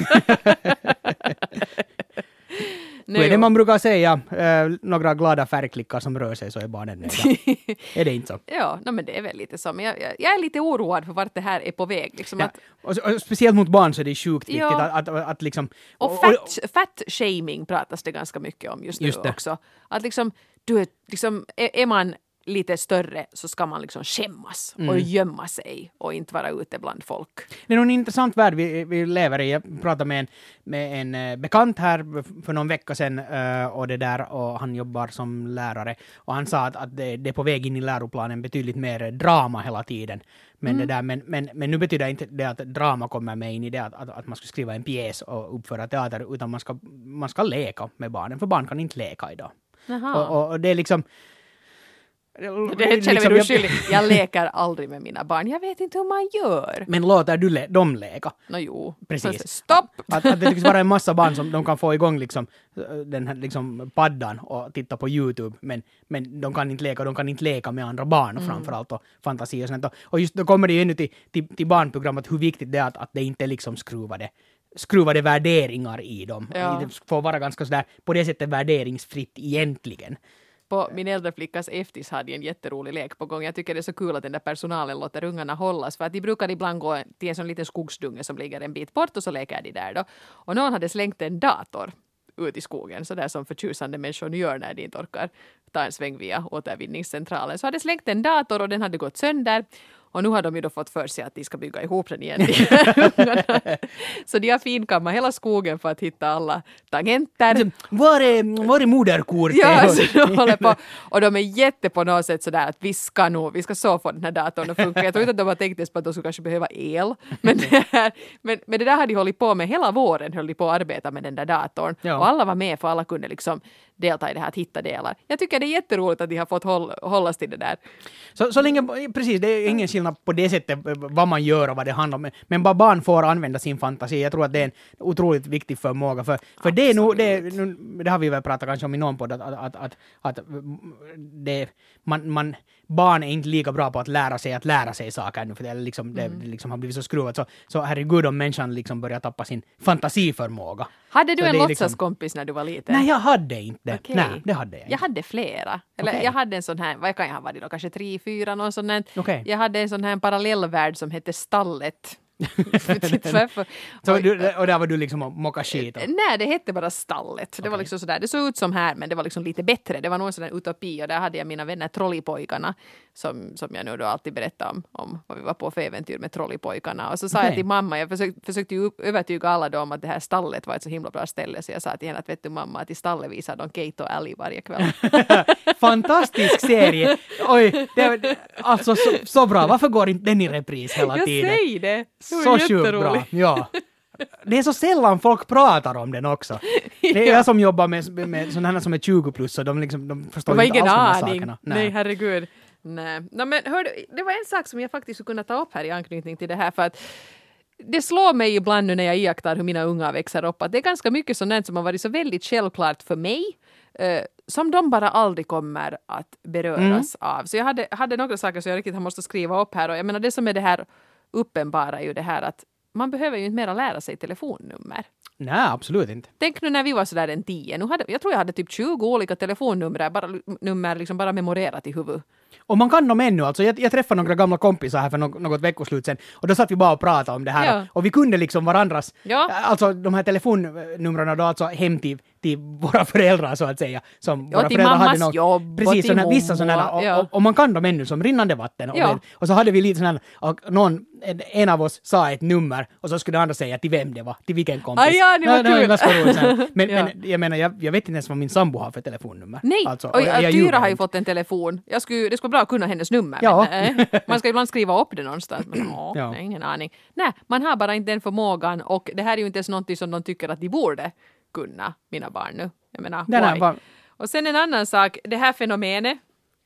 Nu, Vad är det man brukar säga? Eh, några glada färgklickar som rör sig så är barnen nöjda. Är det inte så? Ja, no, men det är väl lite så. Men jag, jag, jag är lite oroad för vart det här är på väg. Liksom Ja. att, Och, och speciellt mot barn så är det sjukt viktigt Ja. att, att, att liksom... och fat, fat shaming pratas det ganska mycket om just nu Just det. också. Att liksom, du är, liksom, är, är man lite större så ska man liksom skämmas Mm. och gömma sig och inte vara ute bland folk. Det är nog en intressant värld vi, vi lever i. Jag pratade med en, med en eh, bekant här för någon vecka sedan eh, och det där, och han jobbar som lärare. Och han sa att, att det, det är på väg in i läroplanen betydligt mer drama hela tiden. Men, Mm. det där, men, men, men nu betyder inte det att drama kommer med in i det att, att, att man ska skriva en pjäs och uppföra teater, utan man ska, man ska leka med barnen, för barn kan inte leka idag. Jaha. Och, och, och det är liksom... Det känner liksom, mig jag- oskyldig. Jag leker aldrig med mina barn. Jag vet inte hur man gör. Men låter du le- dem leka? Nå jo. Precis. Stopp! Att, att det tycks vara en massa barn som de kan få igång liksom, den här liksom paddan och titta på YouTube, men, men de kan inte leka, de kan inte leka med andra barn Mm. framförallt, och fantasi och sånt. Och just då kommer det ju ännu till, till, till barnprogrammet hur viktigt det är att, att det inte är liksom skruvade, skruvade värderingar i dem. Ja. Det får vara ganska sådär, på det sättet värderingsfritt egentligen. På min äldre flickas eftis hade jag en jätterolig lek på gång. Jag tycker det är så kul att den där personalen låter ungarna hållas. För att de brukar ibland gå till en sån liten skogsdunge som ligger en bit bort och så leker de där då. Och någon hade slängt en dator ut i skogen, så där som förtjusande människor gör när de inte orkar ta en sväng via återvinningscentralen. Så hade slängt en dator och den hade gått sönder. Och nu har de ju då fått för sig att de ska bygga ihop den igen. Så de har finkammat hela skogen för att hitta alla tangenter. Var är, var är moderkortet? Ja, så de håller på. Och de är jätte på något sätt sådär att vi ska nog, vi ska så få den här datorn att funka. Jag tror inte att de har tänkt ens på att de skulle kanske behöva el. Men det, här, men, men det där har de hållit på med hela våren, höll de på att arbeta med den där datorn. Ja. Och alla var med, för alla kunde liksom delta i det här att hitta delar. Jag tycker det är jätteroligt att de har fått håll, hållas till det där. Så, så länge, precis, det är ingen skillnad på det sättet vad man gör och vad det handlar om. Men bara barn får använda sin fantasi. Jag tror att det är en otroligt viktig förmåga. För, för det är nog, det, är- nu, det har vi väl pratat kanske om i någon podd, att, att, att, att, att det, man, man, barn är inte lika bra på att lära sig att lära sig saker nu, för det, är liksom, det, det liksom har blivit så skruvat. Så, så herregud, om människan liksom börjar tappa sin fantasiförmåga. Hade du Så en det är liksom- låtsaskompis när du var liten? Nej, jag hade inte det. Okej. Nej, det hade jag inte. Jag hade flera. Eller Okej. jag hade en sån här, vad kan jag ha varit då, kanske tre, fyra, någon sån här. Okej. Jag hade en sån här parallellvärld som hette Stallet. Så du, och där var du liksom och mocka skit? Nej, det hette bara Stallet. Det okay. var liksom sådär, det såg ut som här, men det var liksom lite bättre. Det var någon sån där utopi, och där hade jag mina vänner Trollipojkarna, som, som jag nu då alltid berättar om, om vad vi var på för äventyr med Trollipojkarna. Och så sa okay. jag till mamma, jag försökte, försökte ju övertyga alla då om att det här stallet var ett så himla bra ställe, så jag sa till henne att vet du mamma, att i stallet visar de Kate och Ellie varje kväll. Fantastisk serie! Oj, det, alltså så, så bra. Varför går inte den i repris hela jag tiden? Jag säger det. Det så sjukt bra. Ja. Det är så sällan folk pratar om den också. Det är ja. jag som jobbar med, med sådana som är tjugo plus, så de, liksom, de förstår de inte alls de här aning. sakerna. Nej, Nej herregud. Nej. No, men hör, det var en sak som jag faktiskt skulle kunna ta upp här i anknytning till det här, för att det slår mig ibland nu när jag iakttar hur mina unga växer upp, att det är ganska mycket sånt som har varit så väldigt självklart för mig, eh, som de bara aldrig kommer att beröras mm. av. Så jag hade, hade några saker som jag riktigt måste skriva upp här, och jag menar det som är det här uppenbara är ju det här att man behöver ju inte mera lära sig telefonnummer. Nej, absolut inte. Tänk nu när vi var sådär en tio. Nu hade, jag tror jag hade typ tjugo olika telefonnummer bara, nummer liksom bara memorerat i huvudet. Och man kan dem ännu. Alltså, jag, jag träffade några gamla kompisar här för något, något veckoslut sedan. Och då satt vi bara och pratade om det här. Ja. Och vi kunde liksom varandras, ja. alltså de här telefonnumren då, alltså hem till, till våra föräldrar så att säga. Som ja, våra till föräldrar mammas hade någon, jobb precis, och till såna, vissa sådana, och, ja. och, och man kan dem ännu som rinnande vatten. Och, ja. det, och så hade vi lite sådana, och någon, en, en av oss sa ett nummer och så skulle den andra säga till vem det var, till vilken kompis. Ah, ja, det var det, kul. Det var roligt, men, ja. men jag menar, jag, jag vet inte ens vad min sambo har för telefonnummer. Nej, alltså, och, och jag, jag Tyra har ju fått en telefon. Jag skulle, det skulle bra kunna hennes nummer. Ja. Men, äh, man ska ibland skriva upp det någonstans. Men åh, ja. nej, ingen aning. Nej, man har bara inte den förmågan, och det här är ju inte ens någonting som de tycker att de borde kunna, mina barn nu. Jag menar, why? Var... Och sen en annan sak, det här fenomenet,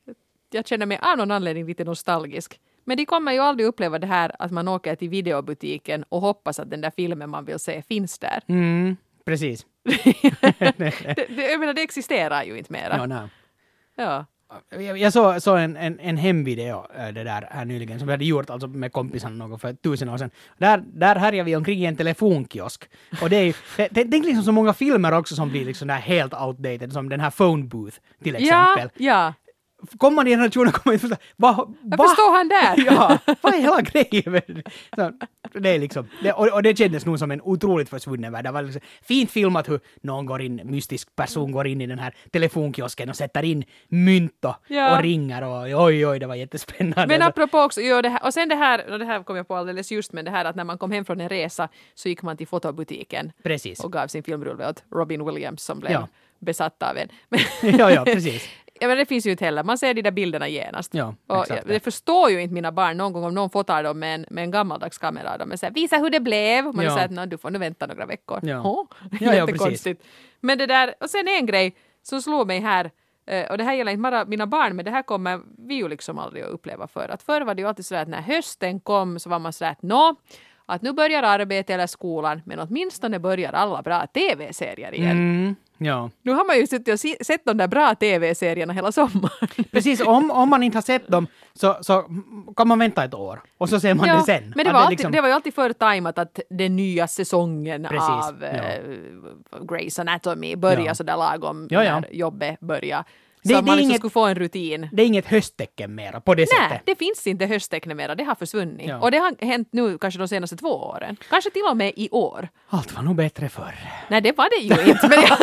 jag känner mig av någon anledning lite nostalgisk. Men de kommer ju aldrig uppleva det här att man åker till videobutiken och hoppas att den där filmen man vill se finns där. Mm, precis. det, det, jag menar, det existerar ju inte mera. Ja, nej. Ja. Jag, jag såg så en, en, en hemvideo det där här nyligen som vi hade gjort alltså med kompisarna någon för tusen år sedan. Där, där härjar vi omkring i en telefonkiosk. Och det är det, det, det är liksom så många filmer också som blir liksom där helt outdated, som den här Phone Booth till exempel. Ja, ja. Kommer man i generationen kommer inte förstå, va, varför står han där? Ja, vad är hela grejen? Så, det är liksom, det, och, och det kändes nog som en otroligt försvunnen värld. Det var liksom fint filmat hur någon går in, mystisk person går in i den här telefonkiosken och sätter in mynt och, ja. och ringer och oj oj, det var jättespännande. Men apropå också, jo, det här, och sen det här, och det här kom jag på alldeles just, men det här att när man kom hem från en resa så gick man till fotobutiken. Precis. Och gav sin filmrulle åt Robin Williams som blev ja. besatt av en. ja, ja, precis. Ja, men det finns ju inte heller. Man ser de där bilderna genast. Ja, och jag, det förstår ju inte mina barn någon gång om någon fotar dem med en, med en gammaldags kamera. De säger, visa hur det blev. Man ja. säger att du får nu vänta några veckor. Ja, oh, ja, ja precis. Men det där, och sen en grej som slår mig här, och det här gäller inte bara mina barn, men det här kommer vi ju liksom aldrig att uppleva för. Att förr var det ju alltid så att när hösten kom så var man så att nå, att nu börjar arbetet eller skolan, men åtminstone börjar alla bra tv-serier igen. Mm. Ja. Nu har man ju sett, sett de där bra tv-serierna hela sommaren. Precis, om, om man inte har sett dem så, så kan man vänta ett år och så ser man ja, det sen. Men det var, alltid, liksom... det var ju alltid förtajmat att den nya säsongen Precis, av ja. äh, Grey's Anatomy börjar ja. sådär lagom ja, ja. när jobbet börjar. Så det, att man liksom inget, skulle få en rutin. Det är inget hösttecken mera på det Nej, sättet. det finns inte hösttecken mera. Det har försvunnit. Ja. Och det har hänt nu kanske de senaste två åren. Kanske till och med i år. Allt var nog bättre förr. Nej, det var det ju inte. Men jag...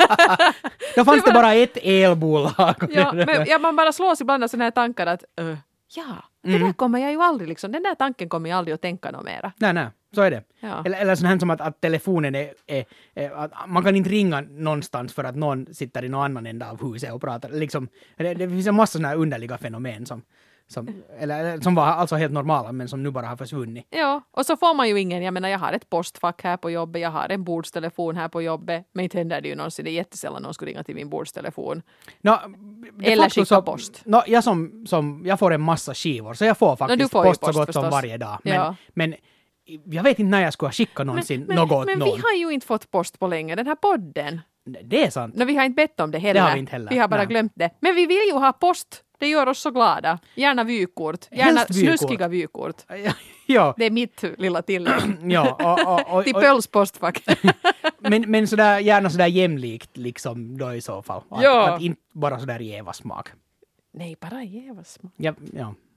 Då fanns det, var... det bara ett elbolag. Ja, men ja, man bara slås ibland av sådana här tankar att uh, ja, det mm. där kommer jag ju aldrig liksom. Den där tanken kommer jag aldrig att tänka något mera. Nej, nej. Så är det. Ja. Eller, eller sånt här som att, att telefonen är, är, är att man kan inte ringa någonstans för att någon sitter i någon annan ända av huset och pratar. Liksom, det, det finns en massa såna här underliga fenomen som, som, eller, som var alltså helt normala men som nu bara har försvunnit. Ja, och så får man ju ingen, jag menar jag har ett postfack här på jobbet, jag har en bordstelefon här på jobbet, men inte händer det ju någonsin, det är jättesällan någon skulle ringa till min bordstelefon. No, eller skicka så, post. No, jag, som, som, jag får en massa skivor så jag får faktiskt no, får post, post så gott förstås. Som varje dag. Men, ja. men jag vet inte när jag skulle ha skickat någonsin men, något åt men, men någon. vi har ju inte fått post på länge, den här podden. Det är sant. No, vi har inte bett om det heller. Det har vi inte heller. Vi har bara Nej. glömt det. Men vi vill ju ha post. Det gör oss så glada. Gärna vykort. Gärna vykort. Snuskiga vykort. Ja. Det är mitt lilla tillägg. Ja, och, och, och, till pölspostfack. men, men sådär, gärna sådär jämlikt liksom då i så fall. Att, ja. att inte bara sådär jäva smak. Nej, bara jäva smak. Ja, ja.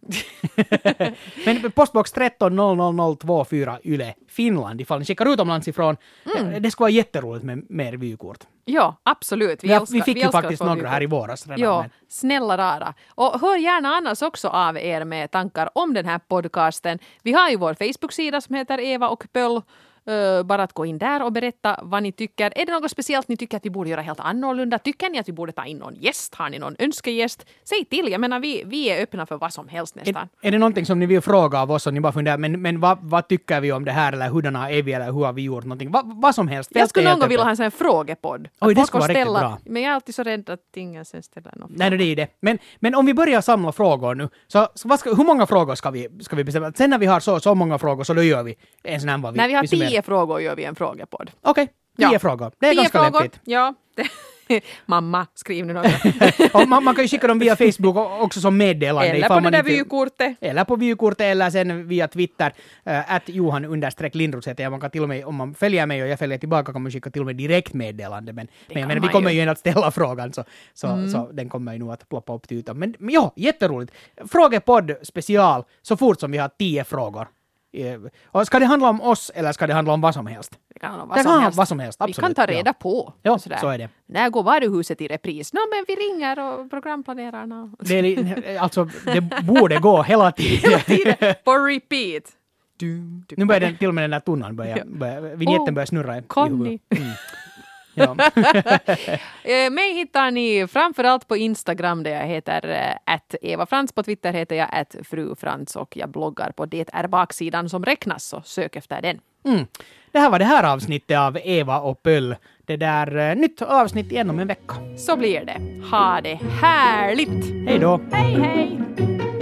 Men postbox tretton noll noll noll två fyra Yle, Finland, ifall ni skickar utomlands ifrån. Mm. Det skulle vara jätteroligt med mer vykort. Ja, absolut. Vi, ja, älskar, vi fick vi ju faktiskt några vykort. här i våras redan. Ja, men. snälla rara. Och hör gärna annars också av er med tankar om den här podcasten. Vi har ju vår Facebook-sida som heter Eva och Pöll. Uh, bara att gå in där och berätta vad ni tycker. Är det något speciellt ni tycker att vi borde göra helt annorlunda? Tycker ni att vi borde ta in någon gäst? Har ni någon önskegäst? Säg till. Jag menar, vi, vi är öppna för vad som helst nästan. Är, är det någonting som ni vill fråga av oss och ni bara funderar, men, men vad, vad tycker vi om det här eller hurdana är vi eller hur har vi gjort någonting? Va, vad som helst. Jag skulle någon gång vilja ha en sån här frågepodd. Oj, det skulle vara riktigt bra. Men jag är alltid så rädd att ingen sen ställer någon fråga. Nej, det är ju det. Men, men om vi börjar samla frågor nu, så, så vad ska, hur många frågor ska vi, ska vi bestämma? Sen när vi har så, så många frågor så då gör vi en sån här vad vi... När vi har vi tio frågor gör vi en frågepodd. Okej, okay. tio ja. frågor. Det är tio ganska frågor. lämpligt. Ja. Mamma, skriv nu något. Och man, man kan ju skicka dem via Facebook också som meddelande. Eller på det där vykortet. Eller på vykortet eller sen via Twitter. Äh, att Johan understreck Lindros heter jag. Man kan till och med, om man följer mig och jag följer tillbaka, kan man skicka till och med direkt meddelande. Men, men jag menar, vi kommer ju ändå att ställa frågan så, så, mm. så den kommer ju nog att ploppa upp till utan. Men, men ja, jätteroligt. Frågepodd special så fort som vi har tio frågor. Och ska det handla om oss eller ska det handla om vad som helst? Det kan handla om vad, det som, kan helst. vad som helst. Absolut. Vi kan ta reda ja. på. Ja, så är det. När går varuhuset i repris? Nå, men vi ringer och programplanerarna. Det, är, alltså, det borde gå hela tiden. hela tiden. På repeat. Du, du. Nu börjar den, till och med den där tunnan börja, ja. börja vignetten oh, börjar snurra. Conny. Mm. Ja. Mig hittar ni framförallt på Instagram där jag heter att Eva Frans. På Twitter heter jag att Fru Frans och jag bloggar på Det är baksidan som räknas, så sök efter den. Mm. Det här var det här avsnittet av Eva och Pöll. Det där nytt avsnitt igen om en vecka. Så blir det. Ha det härligt! Hej då! Hej hej!